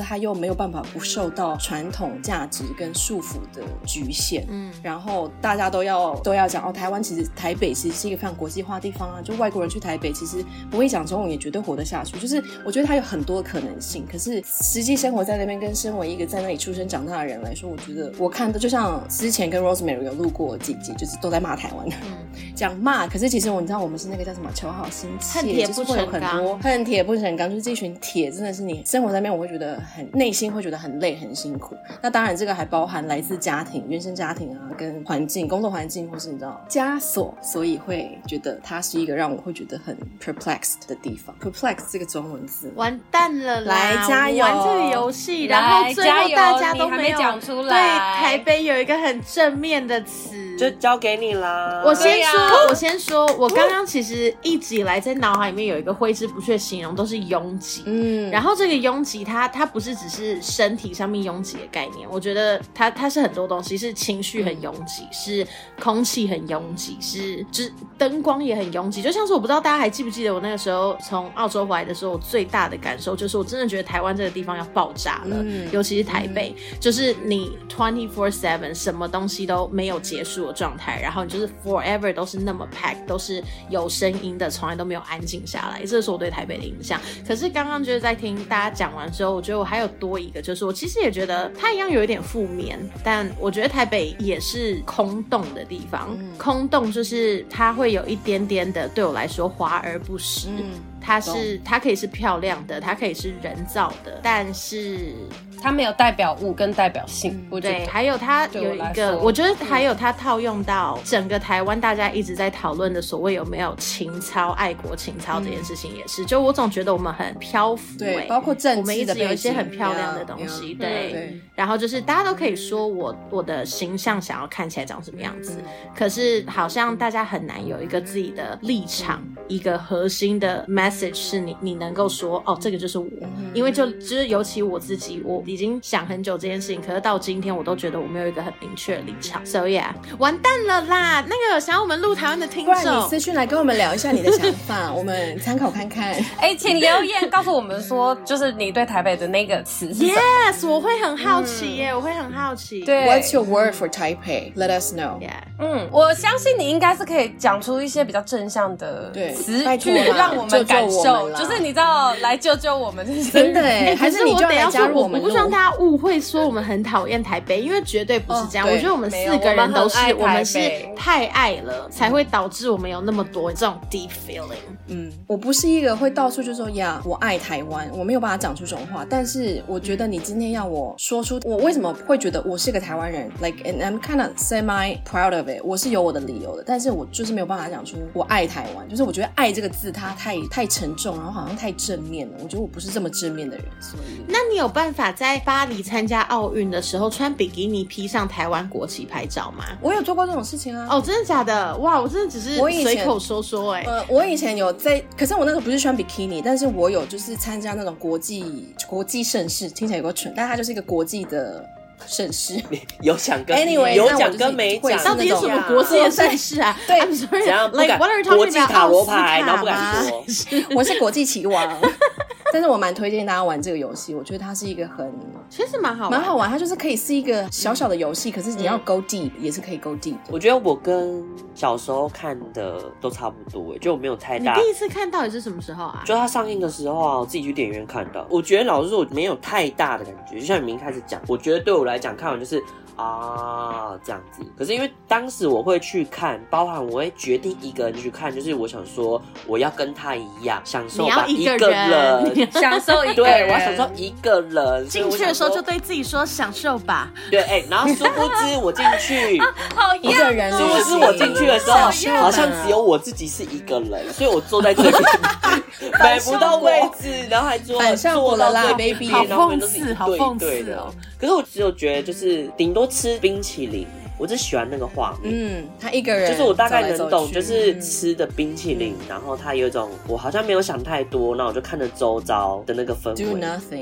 有辦法不受到傳統價值跟束縛的局限。嗯，然後大家都要都要講哦，台灣其實台北其實是一個非常國際化的地方啊，就外國人去台北其實不會講中文也絕對活得下去。就是我覺得它有很多的可能性，可是實際生活在那邊跟身為一個在那裡出生長大的人來說，我覺得我看的就像之前跟 Rosemary 有錄過幾集，就是都在罵台灣的，講罵、嗯。可是其實我你知道我們是那個叫什麼求好心切， 恨鐵不成鋼，就是會有很多恨鐵不成鋼，就是這群鐵真的是你生活在那邊，我會覺得很內心會覺得很累很辛苦。那當然這個還包含來自家庭原生家庭啊，跟環境工作環境，或是你知道枷鎖，所以會覺得它是一個讓我會覺得很 perplexed 的地方。perplex 這個中文字完蛋了啦， 來加油玩這個遊戲，然後最後大家都沒有講出來。 對台北有一個很正面的詞， 就交給你啦。 我先說，啊、我先說，我剛剛其實一直以來在腦海裡面有一個揮之不去的形容，都是擁擠。嗯，然後這個擁擠，它它不是只是身體上面擁擠的概念，我覺得它它是很多東西，是情緒很擁擠，嗯、是空氣很擁擠，是就是燈光也很擁擠。就像是我不知道大家還記不記得我那個時候從澳洲回來的時候，我最大的感受就是我真的覺得台灣這個地方要爆炸了，嗯、尤其是台北，嗯、就是你 twenty four seven 什麼東西都沒有結束的狀態，然後你就是 forever 都是那麼 packed， 都是有聲音的，從來都沒有安靜下來。這是我對台北的印象。可是剛剛就是在聽大家講完之後，我覺得我還有多一個，就是我其實也覺得它一樣有一點負面，但我覺得台北也是空洞的地方。嗯、空洞就是它會有一點點的，對我來說華而不實。嗯它是，它可以是漂亮的，它可以是人造的，但是它沒有代表物跟代表性。嗯、我覺得對，還有它有一個，我，我覺得還有它套用到整個台灣，大家一直在討論的所謂有沒有情操、愛國情操這件事情也是。嗯、就我總覺得我們很漂浮、欸， 對，包括政治的， 我們一直有一些很漂亮的東西，對。對然後就是大家都可以說我我的形象想要看起來長什麼樣子，嗯、可是好像大家很難有一個自己的立場，嗯、一個核心的 message 是你你能夠說哦，這個就是我，嗯、因為就就是尤其我自己，我已經想很久這件事情，可是到今天我都覺得我沒有一個很明確的立場。So yeah， 完蛋了啦！那個想要我們錄台灣的聽眾，不然你私訊來跟我們聊一下你的想法，我們參考看看。 哎、欸，請留言告訴我們說，就是你對台北的那個詞是什麼。 Yes， 我會很好奇耶，嗯、我會很好奇。 對 ，What's your word for Taipei? Let us know. Yeah， 嗯，我相信你應該是可以講出一些比較正向的詞句，讓我們感受。就是你知道，來救救我們， 真的哎！還是你就來加入我們？ 我不希望大家誤會說我們很討厭台北，因為絕對不是這樣。我覺得我們四個人都是，我們是太愛了，才會導致我們有那麼多這種 deep feeling。 嗯，我不是一個會到處就說呀，我愛台灣，我沒有辦法講出這種話。但是我覺得你今天要我說出我為什麼會覺得我是個台灣人 ，like and I'm kind of semi proud of it， 我是有我的理由的。但是我就是沒有辦法講出我愛台灣，就是我覺得愛這個字它太太沉重，然後好像太正面了。我覺得我不是這麼正面的人，所以那你有辦法在巴黎參加奧運的時候穿比基尼披上台灣國旗拍照嗎？ 我有做過這種事情啊。 哦，真的假的？哇，我真的只是隨口說說哎、欸。 呃，我以前有在，可是我那時候不是穿比基尼，但是我有就是參加那種國際國際盛事，聽起來有個蠢，但它就是一個國際的盛事， 有獎跟 anyway 有獎跟沒獎， 到底是什麼國際的盛事啊？ 對， I'm sorry, 怎樣不敢 like, what are you talking about? 國際塔羅牌，然後不敢說， 我是國際棋王。但是我蠻推薦大家玩這個遊戲，我覺得它是一個很其實蠻好玩， 蠻好玩。它就是可以是一個小小的遊戲，嗯、可是你要 go deep、嗯、也是可以 go deep 的。 我覺得我跟小時候看的都差不多，就我沒有太大。 你第一次看到底是什麼時候啊？ 就它上映的時候啊，我自己去電影院看到。我覺得老實說，我沒有太大的感覺，就像你們一開始講，我覺得對我來講看完就是。啊，這樣子。可是因為當時我會去看，包含我會決定一個人去看，就是我想說我要跟他一樣享受吧， 一個人， 一個人享受一個人， 對，我要享受一個人。 進去的時候就對自己說享受吧。 對，哎、欸，然後殊不知我進去， 好一個人， 殊不知我進去的時候，好像只有我自己是一個人，所以我坐在這邊買不到位置，然後還坐坐到對 baby，然後都是一對一對的。可是我只有覺得就是頂多吃冰淇淋，我只喜歡那個畫面。嗯， 他一個人就是我大概能懂，就是吃的冰淇淋，嗯、然後他有一種我好像沒有想太多，那我就看着周遭的那個氛圍。 Do nothing。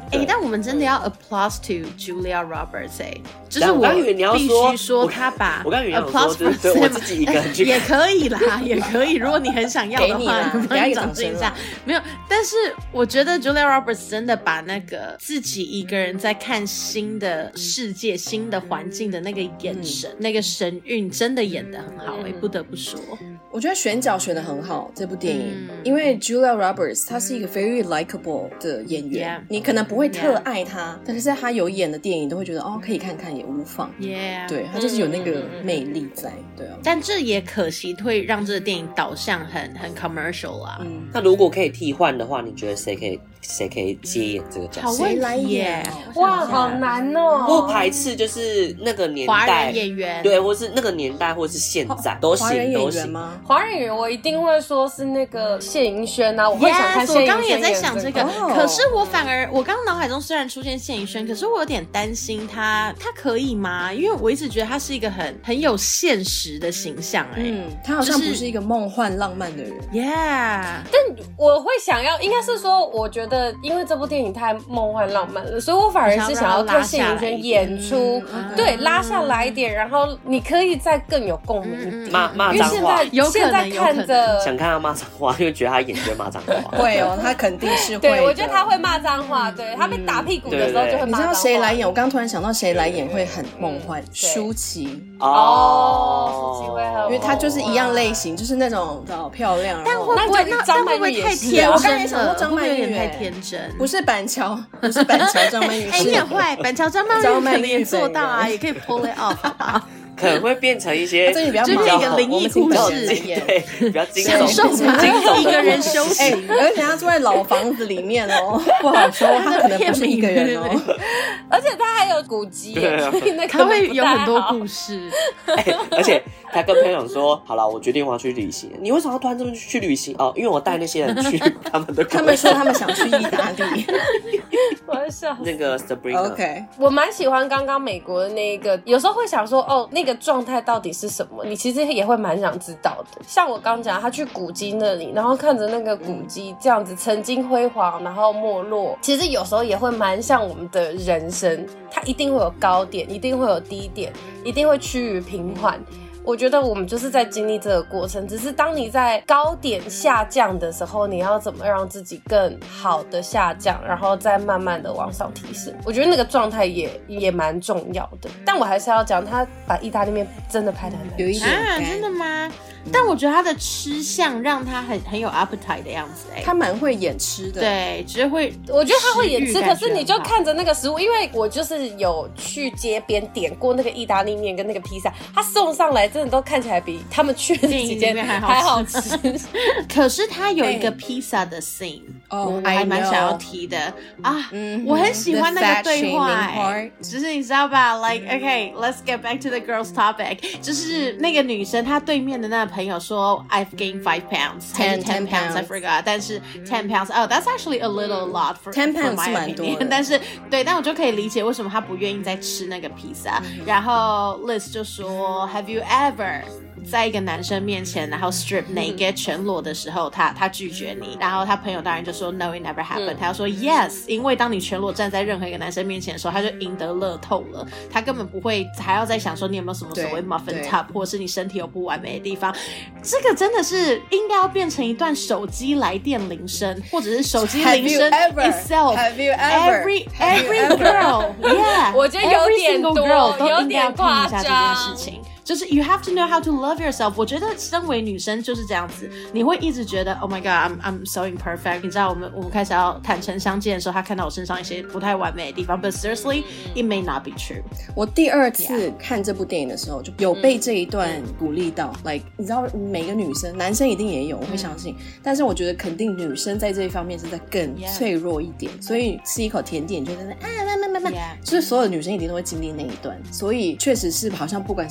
哎、欸，但我們真的要 applause to Julia Roberts 哎、欸，就是我必須說她把我剛以為你要說，就是對我自己一個人去也可以啦，也可以。如果你很想要的話，你幫你掌聲一下。沒有，但是我覺得 Julia Roberts 真的把那個自己一個人在看新的世界、新的環境的那個眼神、嗯、那個神韻，真的演得很好哎、欸，不得不說。 我覺得選角選得很好，這部電影，嗯、因為 Julia Roberts 她是一個 very likable 的演員， yeah, 你可能不會特愛她， yeah. 但是她有演的電影都會覺得哦，可以看看也無妨。Yeah, 對，她就是有那個魅力在，對啊。 但這也可惜會讓這個電影導向很很 commercial 啊。嗯， 那如果可以替換的話，你覺得誰可以誰可以接演這個角色？ 誰來演？ 哇，好難哦！ 不排斥就是那個年代華人演員， 對，或是那個年代，或是現在都行，都行嗎？ 華人演員我一定會說是那個謝盈萱啊，我會想看謝盈萱。 我剛剛也在想這個，哦、可是我反而我剛剛腦海中雖然出現謝盈萱，可是我有點擔心她，她可以嗎？因為我一直覺得她是一個很很有現實的形象、欸，哎， 嗯，她好像不是一個夢幻浪漫的人。 Yeah， 但我會想要，應該是說，我覺得因為這部電影太夢幻浪漫了，所以我反而是想要看謝盈萱演出，嗯、對，拉下來一點，然後你可以再更有共鳴一點。 罵罵髒話， 有可能。 現在看着想看他罵髒話，因為覺得他演就會罵髒話。 會哦，他肯定是會。 對，我覺得他會罵髒話。對，他被打屁股的時候就會罵髒話。 你知道誰來演？我剛剛突然想到誰來演會很夢幻，舒淇。 哦，舒淇會很， 因為他就是一樣類型，就是那種好漂亮。 但會不會那張曼玉太天真？我剛才想說張曼玉有點太天真。 不是板橋，不是板橋張曼玉。 哎，你很壞，板橋張曼玉可能也做到啊，也可以 pull it off， 好吧？ 可能會變成一些， 這裡比較就是一個靈異故事， 對，比較驚悚，享受一個人休息， 欸、而且他住在老房子裡面哦，不好說，他可能不是一個人哦， 而且他還有古蹟， 對啊， 他會有很多故事， 欸、而且他跟朋友說，好了，我決定我要去旅行，你為什麼要突然這麼去旅行？哦，因為我帶那些人去他們的， 他們說他們想去意大利， 我在笑那個 Sabrina，OK， 我蠻喜歡剛剛美國的那個，有時候會想說，哦，那個。狀態到底是什麼？你其實也會蠻想知道的。像我剛講，他去古蹟那裡，然後看着那個古蹟這樣子曾經輝煌，然後沒落。其實有時候也會蠻像我們的人生，它一定會有高點，一定會有低點，一定會趨於平緩。我覺得我們就是在經歷這個過程，只是當你在高點下降的時候，你要怎麼讓自己更好的下降，然後再慢慢的往上提升。我覺得那個狀態也也蠻重要的。但我還是要講，他把意大利麵真的拍得很難吃。 有一點啊，真的嗎？但我覺得他的吃相讓他很很有 appetite 的樣子，哎， 他蠻會演吃的， 對，只會， 我覺得他會演吃，可是你就看着那個食物，因為我就是有去街邊點過那個意大利麵跟那個披薩，他送上來真的都看起來比他們去的幾間還好吃。 可是他有一個披薩的 scene，哦，我還蠻想要提的啊，嗯，我很喜歡那個對話，哎，就是你知道吧 ，like okay，let's get back to the girls topic， 就是那個女生她對面的那個朋友說 I've gained five pounds, ten ten pounds, I forgot. 但是 ten pounds, oh, that's actually a little lot for ten pounds 是蠻多的。但是對，但我就可以理解為什麼他不願意再吃那個披薩。然後 Liz 就說 Have you ever 在一個男生面前，然後 strip naked 全裸的時候，他他拒絕你，然後他朋友當然就說 No, it never happened。他就說 Yes， 因為當你全裸站在任何一個男生面前的時候，他就贏得樂透了，他根本不會還要再想說你有沒有什麼所謂 muffin top， 或者是你身體有不完美的地方。這個真的是應該要變成一段手機來電鈴聲，或者是手機鈴聲 itself。 Have you ever? Every every girl, yeah， 我覺得有點多， girl 都應該要聽一下這有點誇張。 件事情。就是 you have to know how to love yourself。我覺得身為女生就是這樣子，你會一直覺得 Oh my God, I'm I'm so imperfect。你知道我們我們開始要坦誠相見的時候，他看到我身上一些不太完美的地方。But seriously, it may not be true。 我第二次看這部電影的時候，就有被這一段鼓勵到。嗯、like 你知道，每個女生，男生一定也有，我會相信。嗯、但是我覺得肯定女生在這一方面是在更脆弱一點， yeah. 所以吃一口甜點就在那啊慢慢慢慢，就是所有的女生一定都會經歷那一段。所以確實是好像不管什麼年紀。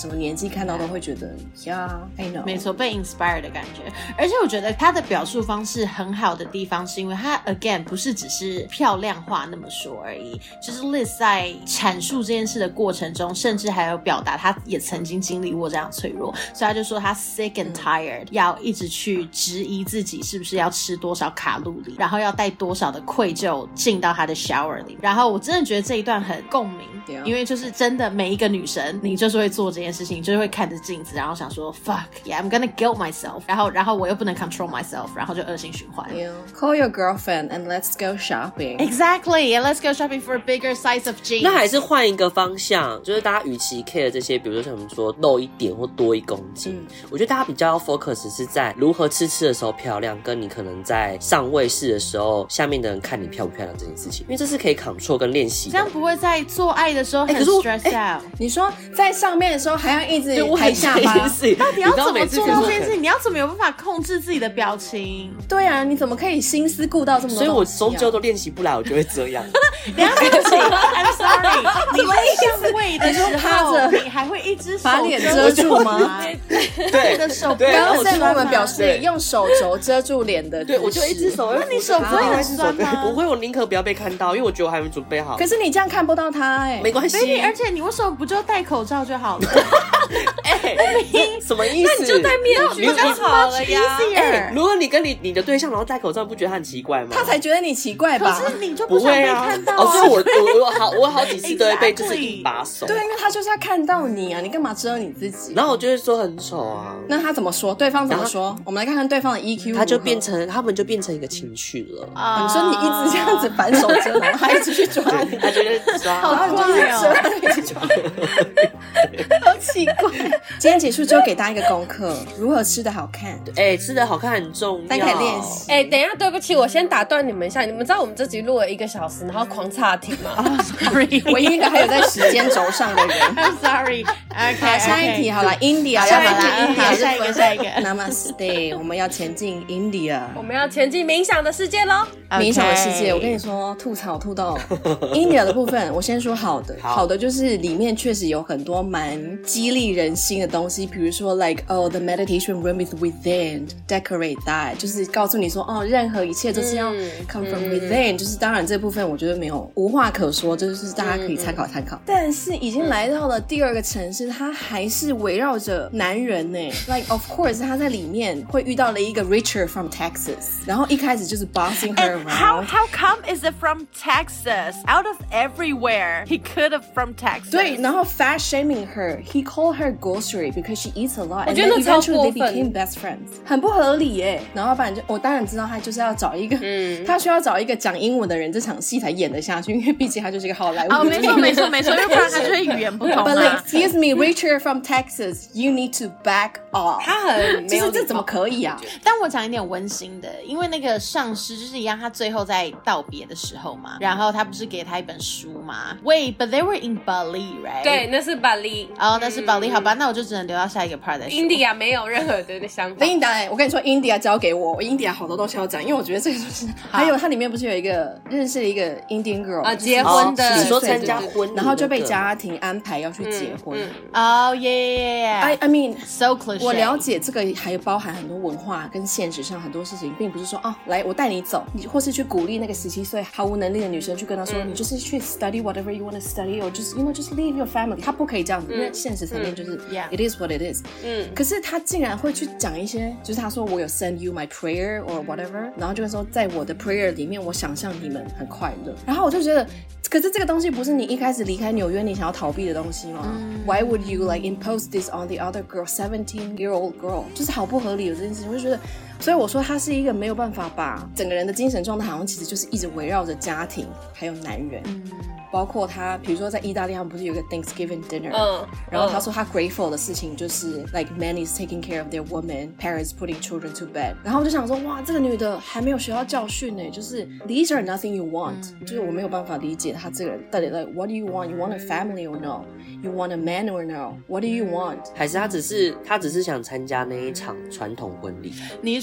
T 看到都會覺得呀、yeah, I know 沒錯，被 inspire 的感覺。而且我覺得他的表述方式很好的地方是因為他 again 不是只是漂亮話那麼說而已，就是 Liz 在闡述這件事的過程中，甚至還有表達他也曾經經歷過這樣脆弱，所以他就說他 sick and tired、嗯、要一直去質疑自己是不是要吃多少卡路里，然後要帶多少的愧疚進到他的 shower 裡。然後我真的覺得這一段很共鳴、啊、因為就是真的每一個女生你就是會做這件事情，就是會看着鏡子然後想說 fuck yeah I'm gonna guilt myself， 然後然後我又不能 control myself， 然後就惡性循環。 Yeah. Call your girlfriend and let's go shopping. Exactly, and let's go shopping for a bigger size of jeans. 那還是換一個方向，就是大家與其 care 這些，比如說像我們說露一點或多一公斤、嗯，我覺得大家比較要 focus 是在如何吃吃的時候漂亮，跟你可能在上位式的時候，下面的人看你漂不漂亮這件事情，因為這是可以 control 跟練習的。 這樣不會在做愛的時候很 stress out、欸。 你說在上面的時候還要一直抬下巴， 到底要怎麼做到這件事情？你要怎麼有辦法控制自己的表情？ 對啊，你怎麼可以心思顧到這麼多、啊？ 所以我終究都練習不來，我就會這樣。 等一下對不起 ，I'm sorry。你在上位的時候，你還會一只手把臉遮住嗎？ 對， 你的手剛剛在跟我們表示用手肘遮住臉的， 對，我就一只手。 那你手不會很酸嗎？ 不會，我寧可不要被看到，因為我覺得我還沒準備好。 可是你這樣看不到他哎、欸， 沒關係。 Baby，而且你為什麼不就戴口罩就好了？ 哎、欸，什麼意思？ 那你就戴面具就好了呀。 欸、如果你跟你你的對象然後戴口罩，不覺得他很奇怪嗎？ 他才覺得你奇怪吧？ 可是你就不想被看到、啊。 哦，所以我我我好我好幾次都會被就是一把手。 對，因為他就是要看到你啊，你幹嘛遮你自己？ 然後我就會說很醜啊。 那他怎麼說？對方怎麼說？我們來看看對方的 E Q。 他就變成他們就變成一個情緒了。 啊、uh, 你說你一直這樣子反手遮，然後他一直去抓你， 他就會抓， 好怪哦， 一直抓，好奇怪。今天結束之後給大家一個功課，如何吃得好看。 哎、欸，吃得好看很重要， 大家可以練習。 哎、欸，等一下，對不起，我先打斷你們一下。你們知道我們這集錄了一個小時，然後狂岔題嗎？ 啊、oh, ，sorry， 唯一一個還有在時間軸上的人。 I'm sorry。OK， 好，下一題好了 ，India， 下一個 India，下一個，下一個。 Namaste， 我們要前進 India， 我們要前進冥想的世界嘍。 Okay. 冥想的世界，我跟你說，吐槽吐到 India 的部分，我先說好的，好，好的就是裡面確實有很多蠻激勵人心的東西，比如說 like oh the meditation room is within，decorate that， 就是告訴你說哦，任何一切都是要 come from within，、嗯、就是當然這部分我覺得沒有無話可說，就是大家可以參考參考、嗯。但是已經來到了第二個城市，它還是圍繞着男人呢。Like of course， 他在裡面會遇到了一個 Richard from Texas， 然後一開始就是 bossing her around。 How how come is it from Texas? Out of everywhere, he could have from Texas. 對，然後 fat shaming her. He called her grocery because she eats a lot. 我覺得那超過分。 And then eventually they became best friends. 很不合理耶。然後不然就我當然知道他就是要找一個，嗯，他需要找一個講英文的人，這場戲才演得下去，因為畢竟他就是一個好萊塢。 哦，沒錯沒錯沒錯，因為不然他就是語言不通、啊。 But like, excuse me, Richard from Texas, you need to back off. 他很沒有， 就是這怎麼可以啊？ 但我講一點溫馨的，因為那個上司就是一樣，他最後在道別的時候嘛，然後他不是給他一本書嗎 ？Wait, but they were in Bali, right? 對，那是 Bali。 哦、oh, ，那是 Bali，、嗯、好吧，那我就只能留到下一個 part 再說。 India 沒有任何的想法。 India， 我跟你說 ，India 交給我，我 India 好多東西要講，因為我覺得這個就是還有它裡面不是有一一個認識了一個 Indian girl 啊，結婚的， 你說參加婚禮， 然後就被家庭安排要去結婚。 哦耶 I I mean so cliche。 我了解這個還包含很多文化跟現實上很多事情，並不是說哦，來我帶你走，你或是去鼓勵那個十七歲毫無能力的女生去跟她說，嗯、你就是去 study whatever you want to study or just you know just leave your family。她不可以這樣子，嗯、因為現實層面就是、嗯、it is what it is。嗯，可是她竟然會去講一些，就是她說我有 send you my prayer or whatever，然後就會說在我的 prayer 裡面，我想象你們很快樂。然後我就覺得，可是這個東西不是你一開始離開紐約你想要逃避的東西嗎、嗯、？Why would you like impose this on the other girl, seventeen year old girl？ 就是好不合理的這件事情，我就覺得，所以我說他是一個沒有辦法把整個人的精神狀態，好像其實就是一直圍繞着家庭還有男人。嗯，包括他，比如說在意大利，他們不是有個 Thanksgiving dinner，、uh, 然後他說他 grateful 的事情就是 like men is taking care of their women, parents putting children to bed。然後我就想說，哇，這個女的還沒有學到教訓呢，就是 these are nothing you want，、嗯、就是我沒有辦法理解他這個人到底 like what do you want? You want a family or no? You want a man or no? What do you want? 還是他只是他只是想參加那一場傳統婚禮？ 你是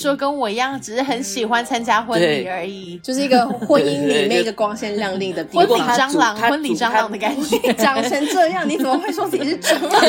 說跟我一樣，只是很喜歡參加婚禮而已， 就是一個婚姻裡面一個光鮮亮麗的地方。 婚禮蟑螂，婚禮蟑螂的感覺， 長成這樣，你怎麼會說自己是蟑螂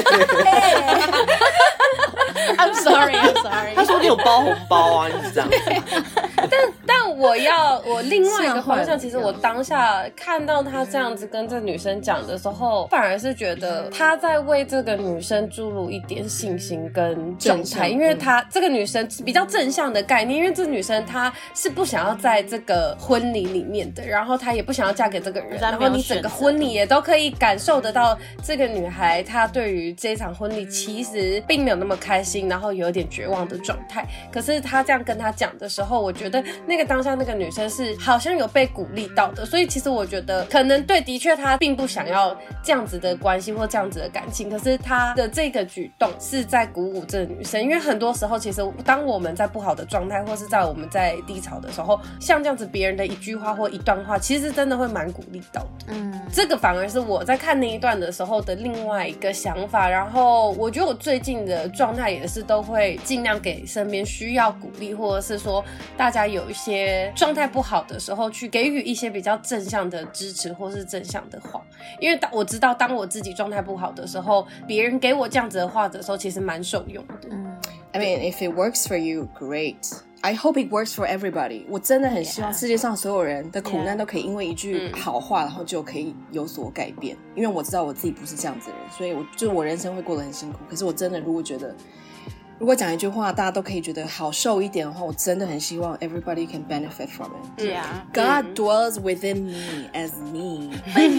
？I'm sorry, I'm sorry。 他說你有包紅包啊，你是這樣。 但但我要我另外一個方向，其實我當下看到他這樣子跟這女生講的時候，反而是覺得他在為這個女生注入一點信心跟狀態，因為他這個女生比較正向的概念，因為這女生她是不想要在這個婚禮裡面的，然後她也不想要嫁給這個人，然後你整個婚禮也都可以感受得到這個女孩她對於這場婚禮其實並沒有那麼開心，然後有點絕望的狀態。可是她這樣跟她講的時候，我覺得那個當下那個女生是好像有被鼓勵到的，所以其實我覺得可能對，的確她並不想要這樣子的關係或這樣子的感情，可是她的這個舉動是在鼓舞這個女生，因為很多時候其實當我們在不好的狀態或是在我們在低潮的時候，像這樣子別人的一句話或一段話，其實真的會蠻鼓勵到的。嗯，這個反而是我在看那一段的時候的另外一個想法。然後我覺得我最近的狀態也是都會盡量給身邊需要鼓勵，或者是說大家有一些狀態不好的時候，去給予一些比較正向的支持或是正向的話。因為當我知道當我自己狀態不好的時候，別人給我這樣子的話的時候，其實蠻受用的。嗯 I mean, if it works for you, great. I hope it works for everybody. 我真的很希望世界上所有人的苦難都可以因為一句好話， yeah. 然後就可以有所改變。因為我知道我自己不是這樣子的人，所以我就我人生會過得很辛苦。可是我真的如果覺得如果講一句話大家都可以覺得好受一點的話，我真的很希望 everybody can benefit from it. Yeah. God dwells within me as me.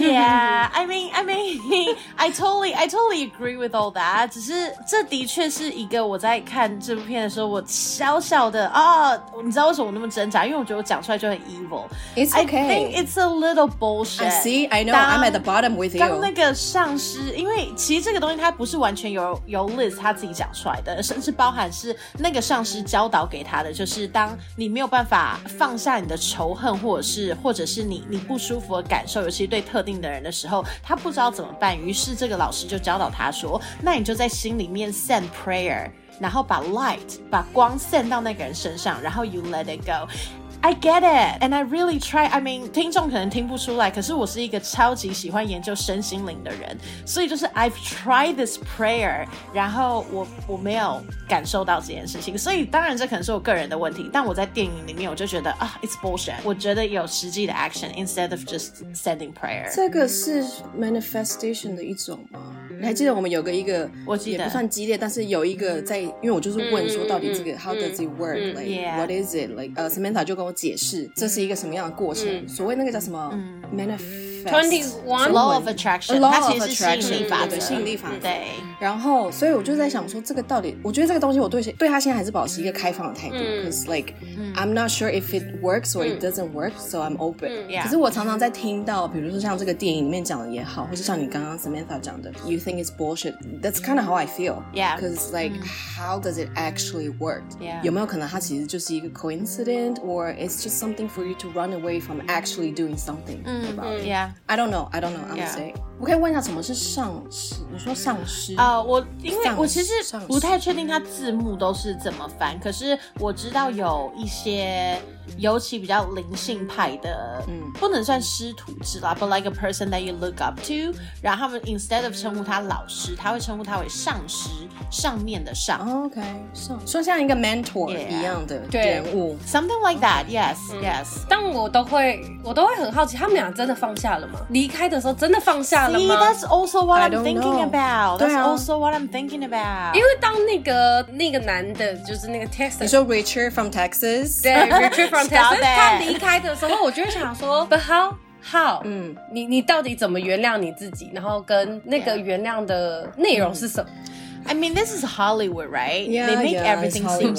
Yeah, I mean, I mean, I totally, I totally agree with all that. 只是這的確是一個我在看這部片的時候，我小小的啊，你知道為什麼我那麼掙扎？因為我覺得我講出來就很 evil. It's okay. I think it's a little bullshit. I see, I know, I'm at the bottom with you. 當那個上司，因為其實這個東西它不是完全由由 Liz 他自己講出來的，甚至是包含是那個上司教導給他的，就是當你沒有辦法放下你的仇恨，或者是或者是你你不舒服的感受，尤其對特定的人的時候，他不知道怎麼辦。於是這個老師就教導他說，那你就在心裡面 send prayer， 然後把 light 把光 send 到那個人身上，然後 you let it go。I get it, and I really try. I mean, 聽眾可能聽不出來，可是我是一個超級喜歡研究身心靈的人，所以就是 I've tried this prayer， 然後我我沒有感受到這件事情，所以當然這可能是我個人的問題，但我在電影裡面我就覺得啊 ，it's bullshit。我覺得有實際的 action instead of just sending prayer。 這個是 manifestation 的一種嗎？你還記得我們有個一個， 我記得也不算激烈，但是有一個在，因為我就是問說到底這個、嗯、how does it work、嗯、like、yeah. what is it like？ 呃、uh, Samantha 就跟我解釋這是一個什麼樣的過程，嗯、所謂那個叫什麼、嗯、manifest twenty-one law of attraction， law 它 of 其實是吸引力法則， 吸引力法則。 對， 然後所以我就在想說，這個到底，我覺得這個東西我對對他現在還是保持一個開放的態度、嗯、，cause like、嗯、I'm not sure if it works or it doesn't work， so I'm open、嗯。可是我常常在聽到，比如說像這個電影裡面講的也好，或是像你剛剛 Samantha 講的 ，You think it's bullshit？That's kind of how I feel. Yeah. Because like,、嗯、how does it actually work? Yeah. 有沒有可能它其實就是一個 coincidence, or it's just something for you to run away from actually doing something about it? Yeah. I don't know. I don't know. I'm saying. 我可以問一下什麼是上師？你說上師？ 啊、uh, ，我因為我其實不太確定它字幕都是怎麼翻，可是我知道有一些，尤其比較靈性派的，嗯，不能算師徒制啦 ，but like a person that you look up to， 然後他們 instead of 稱呼他老師，他會稱呼他為上師，上面的上。 Oh, OK， 上，說像一個 mentor、yeah. 一樣的人物 ，something like that。Yes，Yes、嗯。Yes. 但我都會，我都會很好奇，他們倆真的放下了嗎？離開的時候真的放下了嗎 See, that's also what I'm thinking know. about. That's 啊 also what I'm thinking about. 因為當那個那個男的，就是那個 Texas， 你說 Richard from Texas， 對 ，Richard from Texas， 他離開的時候，我就會想說 ，But how how？ 嗯，你你到底怎麼原諒你自己？然後跟那個原諒的內容是什麼？ I mean, this is Hollywood, right? Yeah, They make yeah, everything seem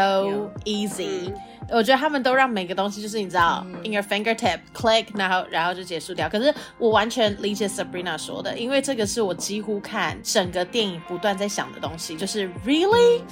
so yeah. easy.、嗯我覺得他們都讓每個東西就是你知道、嗯、in your fingertip click 然後然後就結束掉，可是我完全理解 Sabrina 說的，因為這個是我幾乎看整個電影不斷在想的東西，就是 really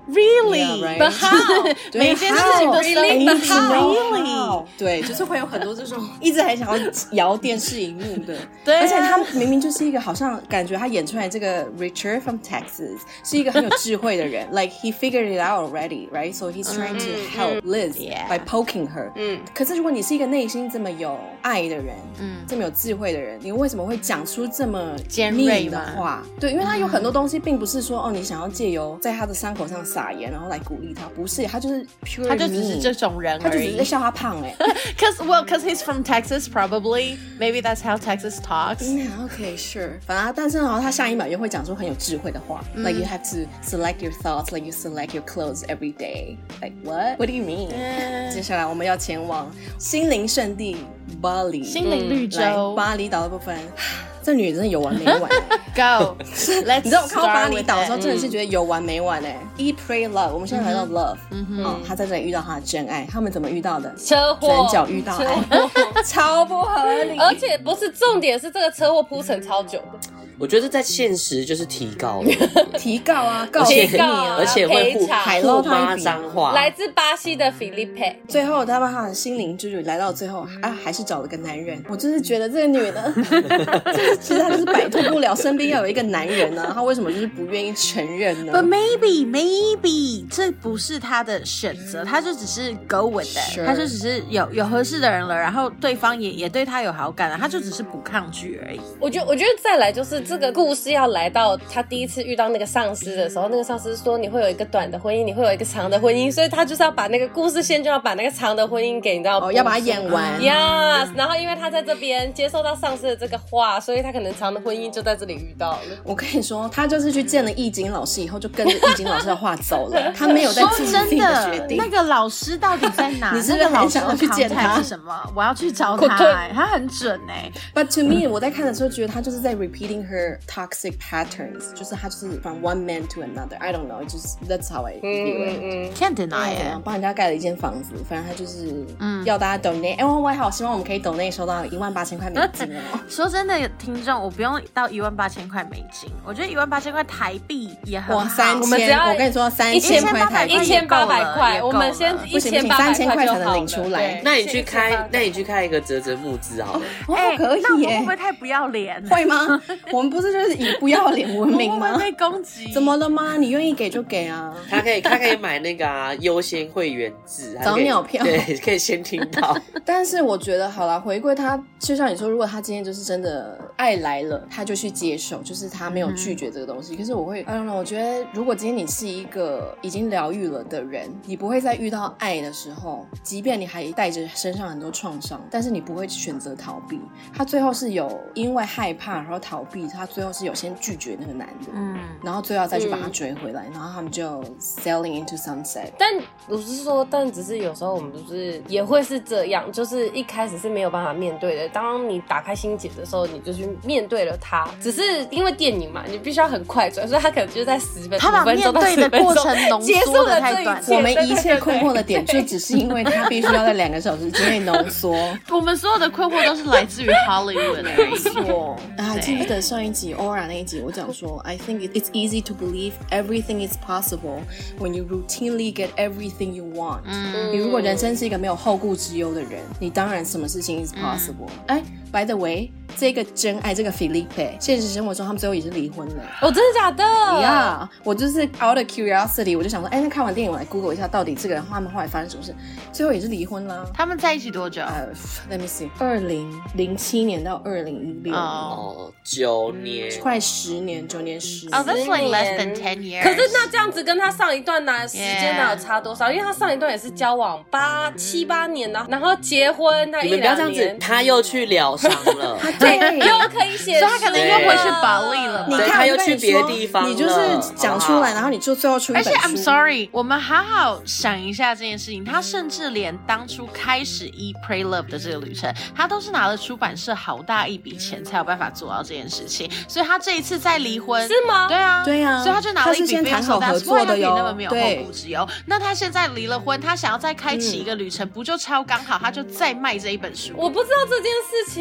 Really? Yeah, right? But how? 每件事情都 Really? But how? Really? 对，就是会有很多这種一直還想要搖電視熒幕的。 對啊， 而且他明明就是一個好像感覺他演出來這個 Richard from Texas 是一個很有智慧的人，like he figured it out already, right? So he's trying to help Liz by poking her. 嗯，可是如果你是一個內心這麼有愛的人，嗯，這麼有智慧的人，你為什麼會講出這麼尖銳的話？對，因為他有很多東西並不是說哦，你想要借由在他的傷口上撒鹽，然後來鼓勵他，不是，他就是 pure 他就只是這種人而已， 他就只是在笑他胖哎。 Cause well, cause he's from Texas, probably. Maybe that's how Texas talks. Yeah, okay, sure. 反正但是呢，他下一秒又會講出很有智慧的話，嗯，like you have to select your thoughts, like you select your clothes every day. Like what? What do you mean? Uh, 接下來我們要前往心靈聖地巴黎， 心靈綠洲， 來巴厘島的部分。這女人真的有完沒完 ？Go， Let's 你知道我看到巴厘島的時候，真的是覺得有完沒完哎。Eat, Pray, Love， 我們現在來到 Love， 嗯哼，哦，他在這裡遇到他的真愛，他們怎麼遇到的？ 車禍， 轉角遇到愛，超不合理。 而且不是重點，是這個車禍鋪陳超久的。 我覺得在現實就是提告了， 提告啊，告提訴你啊， 而且會互互罵髒話。 來自巴西的 Felipe， 最後他把他的心靈之旅來到最後啊，還是找了個男人。我就是覺得這個女的，就是其實她就是擺脫不了身邊要有一個男人啊，她為什麼就是不願意承認呢 ？But maybe maybe 這不是她的選擇，她就只是 go with it， 她就只是有有合適的人了，然後對方也也對她有好感了，她就只是不抗拒而已。 我覺得我覺得再來就是。這個故事要來到他第一次遇到那個上司的時候，那個上司說你會有一個短的婚姻，你會有一個長的婚姻，所以他就是要把那個故事線就要把那個長的婚姻給你知道， 哦，要把它演完。 Yes， 然後因為他在這邊接受到上司的這個話，所以他可能長的婚姻就在這裡遇到了。 我跟你說，他就是去見了易經老師以後，就跟着易經老師的話走了，他沒有在自己自己的決定。 那個老師到底在哪？ 你是不是很想要去見他？ 是什麼？我要去找他，欸，他很準哎，欸。 But to me， 我在看的時候覺得他就是在 repeating her toxic patterns， 就是他就是 from one man to another. I don't know, just that's how I feel it. 嗯 Can't deny it. 幫人家蓋了一間房子，反正他就是要大家 donate。哎，我我也好希望我們可以 donate 收到一萬八千塊美金哦。 說真的，聽眾，我不用到一萬八千塊美金，我覺得一萬八千塊台幣也很好。 三千，我跟你說三千塊台幣， 一千八百塊，我們先一千八百塊才能領出來。 那你去開，那你去開一個嘖嘖募資好了。 哎，可以耶。 那我們會不會太不要臉？ 會嗎？我們不是就是以不要臉聞名嗎？ 會被攻擊？ 怎麼了嗎？你願意給就給啊。 他可以，他可以買那個啊優先會員制， 早鳥票， 對，可以先聽到。 但是我覺得好啦，回歸他，就像你說，如果他今天就是真的愛來了，他就去接受，就是他沒有拒絕這個東西。嗯、可是我會 I don't know， 我覺得如果今天你是一個已經療癒了的人，你不會在遇到愛的時候，即便你還帶着身上很多創傷，但是你不會選擇逃避。他最後是有因為害怕然後逃避，他最後是有先拒絕那個男的，嗯，然後最後再去把他追回來，嗯、然後他們就 sailing into sunset。 但我是說，但只是有時候我們不是也會是這樣，就是一開始是沒有辦法面對的。當你打開心結的時候，你就去面對了他。只是因為電影嘛，你必須要很快轉，所以他可能就在十分他把面對的過程濃縮的太短。 我們一切困惑的點，就只是因為他必須要在兩個小時之內濃縮。 我們所有的困惑都是來自於 Hollywood 而已。錯啊，記不記得上一集 Aura 那一集，我講說 I think it's easy to believe everything is possible when you routinely get everything you want。嗯，你如果人生是一個沒有後顧之憂的人，你當然什麼事情 is possible。哎、嗯。By the way， 這個真愛這個 Felipe， 現實生活中他們最後也是離婚了。 哦，真的假的？ 呀、yeah, 我就是 out of curiosity， 我就想說，哎，那看完電影我來 Google 一下，到底這個人他們後來發生什麼事？最後也是離婚啦。 他們在一起多久？ 呃、uh, ，Let me see， 二零零七年到二零一六， 哦，九年， 快十年，九年十年。 Oh, that's like less than ten years。 可是那這樣子跟他上一段呢時間哪有差多少？ Yeah. 因為他上一段也是交往八七八年呢，然後結婚那一兩年。你們不要這樣子， 他又去療傷了， 對，又可以寫， 所以他可能又回去保利了。 你看， 他又去別的地方了， 你就是講出來，然後你就最後出一本書。 而且 I'm sorry， 我們好好想一下這件事情。他甚至連當初開始 Eat Pray Love 的這個旅程，他都是拿了出版社好大一筆錢才有辦法做到這件事情。所以他這一次再離婚， 是嗎？ 對啊， 對啊， 所以他就拿了一筆非常大的合作的喲，那麼沒有後顧之憂。那他現在離了婚，他想要再開啟一個旅程，嗯、不就超剛好？他就再賣這一本書。 我不知道這件事情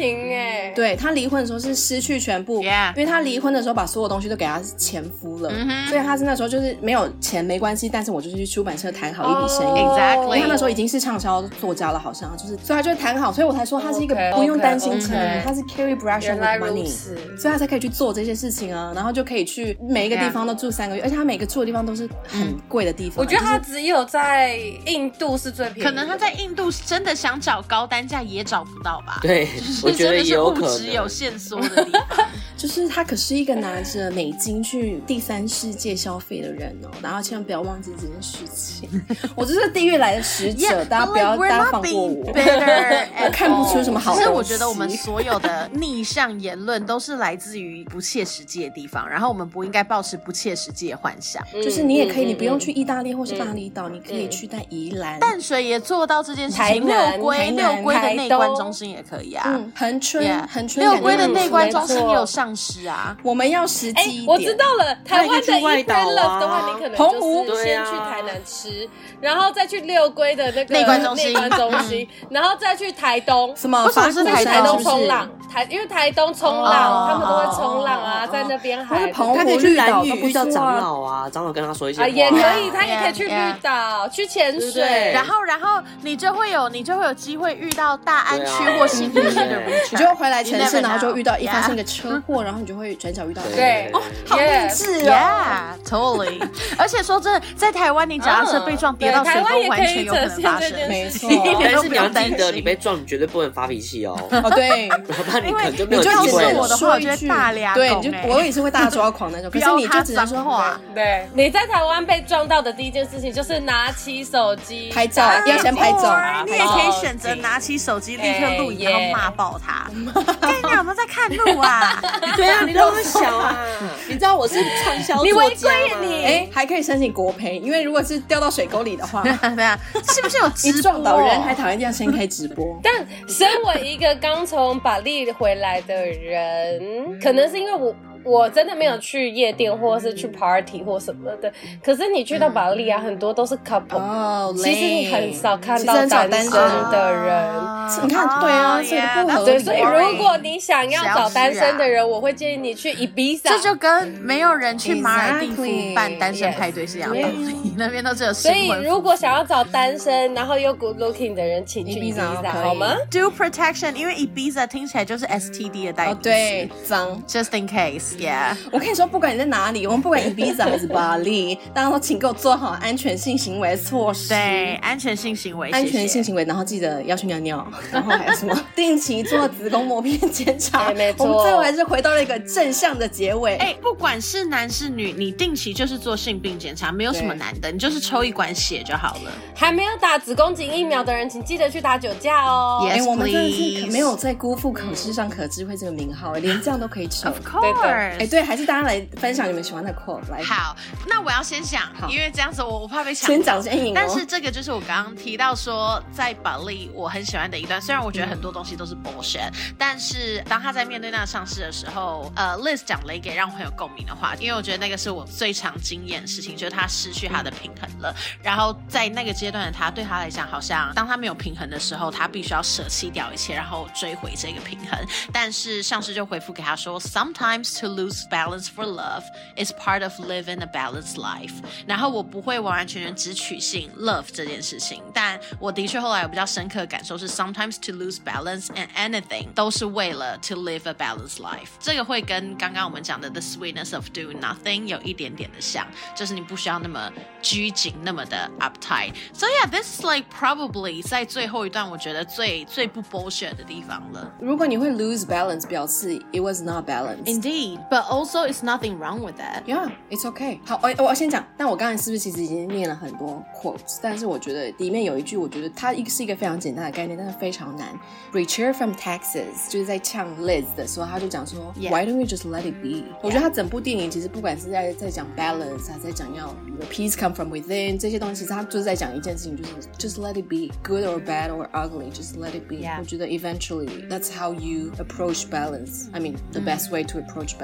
平哎。 對，他離婚的時候是失去全部， yeah. 因為他離婚的時候把所有東西都給他前夫了， mm-hmm. 所以他是那時候就是沒有錢沒關係，但是我就是去出版社談好一筆生意。 Oh, exactly. 因為他那時候已經是暢銷作家了，好像就是，所以他就談好，所以我才說他是一個不用擔心錢， okay, okay. 他是 Carrie Bradshaw with money， 所以他才可以去做這些事情啊，然後就可以去每一個地方都住三個月， yeah. 而且他每個住的地方都是很貴的地方。 我覺得他只有在印度是最便宜的， 可能他在印度真的想找高單價也找不到吧？ 對，我覺得有可能， 物質有限縮的地方。 就是他可是一個拿着美金去第三世界消費的人哦，然後千萬不要忘記這件事情。我就是地獄來的使者， yeah, 大家不要， like, 大家放過我。我看不出什麼好東西。 其實我覺得我們所有的逆向言論都是來自於不切實際的地方，然後我們不應該抱持不切實際的幻想。 嗯、就是你也可以，你不用去意大利或是巴厘島、嗯，你可以去在宜蘭、 嗯、淡水也做到這件事情。六龜六龜的內觀中心也可以啊。嗯， 恆春恆春六龜的內觀中心也有上師啊。 我們要實際一點。 我知道了，台灣的 Eat Pray Love 的話，你可能就是先去台南吃，啊、然後再去六龜的那個內觀中心， 內觀中心，然後再去台東。 什麼？ 為什麼是台東衝浪？台因為台東衝浪，他們都會衝浪啊，在那邊海。 他可以去蘭嶼遇到長老啊，長老跟他說一些話。 也可以，他也可以去綠島去潛水， 然後然後你就會有你就會有機會遇到大安區或新北區的人， 你就會回來城市，然後就遇到一發生一個車禍，然後你就會轉角遇到。 對， 哦，好勵志哦 ，Yeah, totally。而且說真的，在台灣你腳踏車被撞跌到水溝，完全有可能發生。 沒錯， 但是你要記得，你被撞，你絕對不能發脾氣哦。 哦，對， 我怕你可能就沒有機會了。 我的話，我覺得大兩對，你就我也是會大抓狂那種。可是你就只能說話。 對，你在台灣被撞到的第一件事情就是拿起手機拍照，要先拍照。 你也可以選擇拿起手機立刻錄影，然後罵爆他。跟你有沒有在看路啊？ 對啊，你那麼小啊！你知道我是暢銷作家嗎？ 你違規你哎，還可以申請國賠，因為如果是掉到水溝裡的話， 對啊，是不是有直播？ 一撞到人還討厭這樣先開直播。 但身為一個剛從巴黎回來的人，可能是因為我。我真的沒有去夜店或者是去 party 或什麼的，可是你去到巴黎啊，很多都是 couple，、oh, 其實你很少看到單身的人。 Oh, 你看，對啊，所以不合理。 所以如果你想要找單身的人，我會建議你去 Ibiza。 這就跟沒有人去馬爾地夫辦單身派對是一樣的道理，那邊都只有新婚夫婦。 所以如果想要找單身然後又 good looking 的人，請去 Ibiza 好嗎 ？Do protection， 因為 Ibiza 聽起來就是 S T D 的代名詞。 哦，對，髒。 Just in case。Yeah， 我跟你說，不管你在哪裡，我們不管 Ibiza 還是巴黎，大家都請給我做好安全性行為措施。 對，安全性行為， 安全性行為，然後記得要去尿尿，然後還有什麼定期做子宮膜片檢查。 沒錯， 我們最後還是回到了一個正向的結尾。 哎，不管是男是女，你定期就是做性病檢查，沒有什麼難的，你就是抽一管血就好了。 還沒有打子宮頸疫苗的人，請記得去打九價哦。 Yes， 我們真的是沒有在辜負可世上可智慧這個名號，連這樣都可以抽。 Of course。 哎，對，還是大家來分享你們喜歡的 quote 來。 好，那我要先講，因為這樣子我我怕被搶。 先講先贏。 但是這個就是我剛剛提到說，在巴黎我很喜歡的一段，雖然我覺得很多東西都是 bullshit，、嗯、但是當他在面對那個上司的時候，呃 ，Liz 講了一個讓我很有共鳴的話，因為我覺得那個是我最常經驗的事情，就是他失去他的平衡了。嗯、然後在那個階段的他，對他來講，好像當他沒有平衡的時候，他必須要捨棄掉一切，然後追回這個平衡。但是上司就回復給他說 ，Sometimes to lose balance for love is part of living a balanced life。然後我不會完完全全只取信 love 這件事情，但我的確後來有比較深刻的感受是 ，sometimes to lose balance and anything 都是為了 to live a balanced life。這個會跟剛剛我們講的 the sweetness of doing nothing 有一點點的像，就是你不需要那麼拘謹，那麼的 uptight。So yeah, this is like probably 在最後一段我覺得最最不 bullshit 的地方了。 如果你會 lose balance，表示 it was not balanced。 Indeed, but also it's nothing wrong with that. Yeah, it's okay. 好，我我先講，但我剛才是不是其實已經念了很多 quotes？ 但是我覺得裡面有一句，我覺得它是一個非常簡單的概念，但是非常難。Richard from Texas 就是在嗆 Liz 的時候，他就講說、yeah. Why don't we just let it be？、Yeah. 我覺得他整部電影其實不管是在在講 balance， 還是在講要 peace come from within 這些東西，其實他就是在講一件事情，就是 just let it be, good or bad or ugly, just let it be、yeah. 我覺得 eventually that's how you approach balance. I mean the best way to approach balance.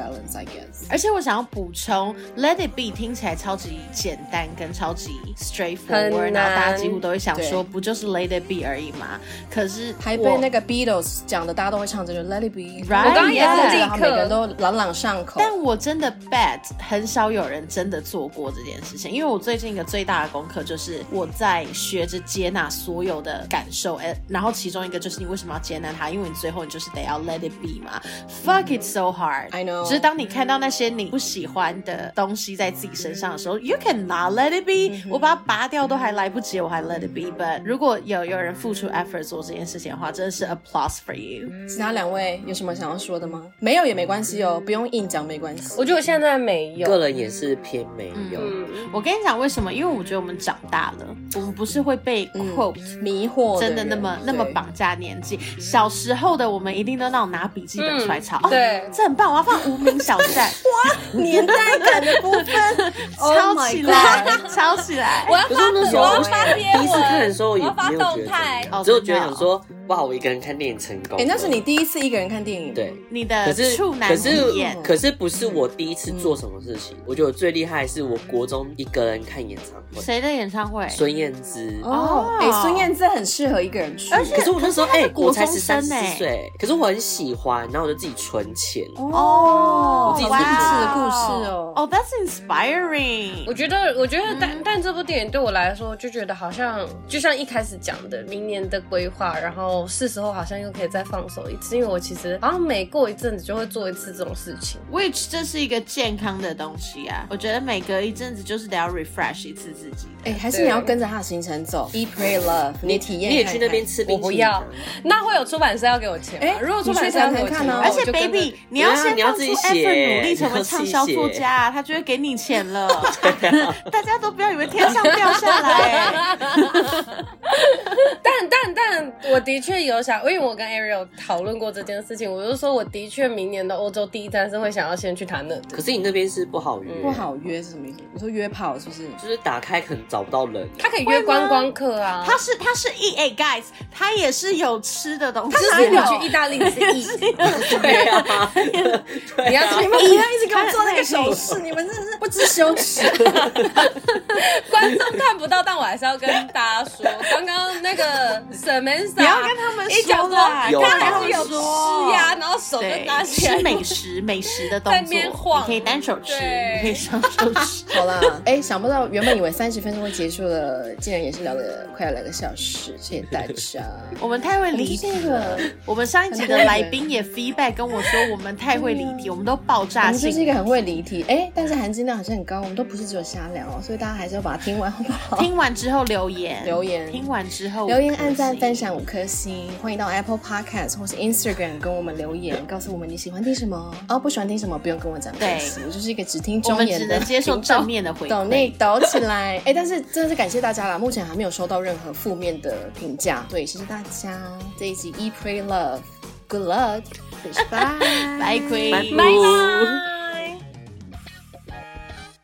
balance I guess。 而且我想要補充 Let It Be 聽起來超級簡單跟超級 straightforward， 然後大家幾乎都會想說不就是 Let It Be 而已嘛，可是還被那個 Beatles 講的大家都會唱這個 Let It Be，right? 我剛剛也是立刻每個人都朗朗上口。 但我真的 bet 很少有人真的做過這件事情，因為我最近一個最大的功課就是我在學着接納所有的感受，然後其中一個就是你為什麼要接納它，因為你最後你就是得要 let it be 嘛。Fuck it's so hard I know， 只是當你看到那些你不喜歡的東西在自己身上的時候 You cannot let it be， 我把它拔掉都還來不及，我還 let it be。 But 如果有有人付出 effort 做這件事情的話，真的是 applause for you。 其他兩位有什麼想要說的嗎？沒有也沒關係哦，不用硬講沒關係。 我覺得我現在沒有， 個人也是偏沒有。 嗯，我跟你講為什麼？因為我覺得我們長大了，我們不是會被 quote、 嗯、迷惑的， 真的那麼那麼綁架年紀。小時候的我們一定都那種拿筆記本出來抄、嗯， 對、 哦，這很棒，我要放無名小站， 哇，年代感的部分抄起來，抄起來。 我要發，我要發貼文， 第一次看的時候我要發動態， 只有覺得想說，哇，我一個人看電影成功。 哎、欸，那是你第一次一個人看電影， 對， 你的處男體驗。 可是不是我第一次做什麼事情，嗯、我覺得我最厲害的是我國中一個人看演唱會。 誰的演唱會？ 孫燕姿。 哦，哎、欸，孫燕姿很適合一個人去。 而且可是我那時候哎、欸，我才十三四歲， 歲，可是我很喜歡，然後我就自己存錢。 哦， 我自己勵志的故事哦。 哦、oh, ，That's inspiring。 我覺得，我覺得但，但、嗯、但這部電影對我來說，就覺得好像，就像一開始講的，明年的規劃，然後是時候好像又可以再放手一次，因為我其實好像每過一陣子就會做一次這種事情。 Which 這是一個健康的東西啊，我覺得每隔一陣子就是得要 refresh 一次自己。 哎、欸，還是你要跟着他的行程走 ，Eat Pray Love， 你體驗看看， 你也去那邊吃冰淇淋。 我不要，那會有出版社要給我錢嗎？哎、欸，如果出版社要給我錢， 而且 Baby， 你要先放出 effort 努力成為暢銷作家、啊，他就會給你錢了。大家都不要以為天上掉下來。 但但但，我的確有想，因為我跟 Ariel 討論過這件事情，我就說我的確明年的歐洲第一站是會想要先去他那的。 可是你那邊是不好約、嗯， 不好約是什麼意思？你說約炮是不是？ 就是打開可能找不到人， 他可以約觀光客啊。 他是他是 E A guys， 他也是有吃的東西。 他哪有去意大利吃 E？ 對啊， 你要你們不要一直給我做那個手勢，你們真的是不知羞恥。 觀眾看不到，但我還是要跟大家說，剛剛那個 Samantha， 你要跟他們說啦， 他還是有吃呀，然後手就拿起來吃美食美食的動作，你可以單手吃，你可以雙手吃。 好啦，哎、欸，想不到原本以為三十分鐘會結束了，竟然也是聊了快要兩個小時，謝謝大家。 我們太會離題了。我們上一集的來賓也 feedback 跟我說，我們太會離題，我們都爆炸性。 我們就是一個很會離題，哎、欸，但是含金量好像很高，我們都不是只有瞎聊哦，所以大家還是要把它聽完，好不好？ 聽完之後留言，留言，聽完之後留言、按讚、分享五顆星，歡迎到 Apple Podcast 或是 Instagram 跟我們留言，告訴我們你喜歡聽什麼，哦，不喜歡聽什麼，不用跟我講。對，我就是一個只聽忠言的， 我們只能接受正面的回饋。 抖內抖起來，哎、欸，但是真的是感謝大家啦，目前還沒有收到任何負面的評價，對，謝謝大家。這一集 Eat Pray Love，Good luck，Bye， Bye， Queen， Bye。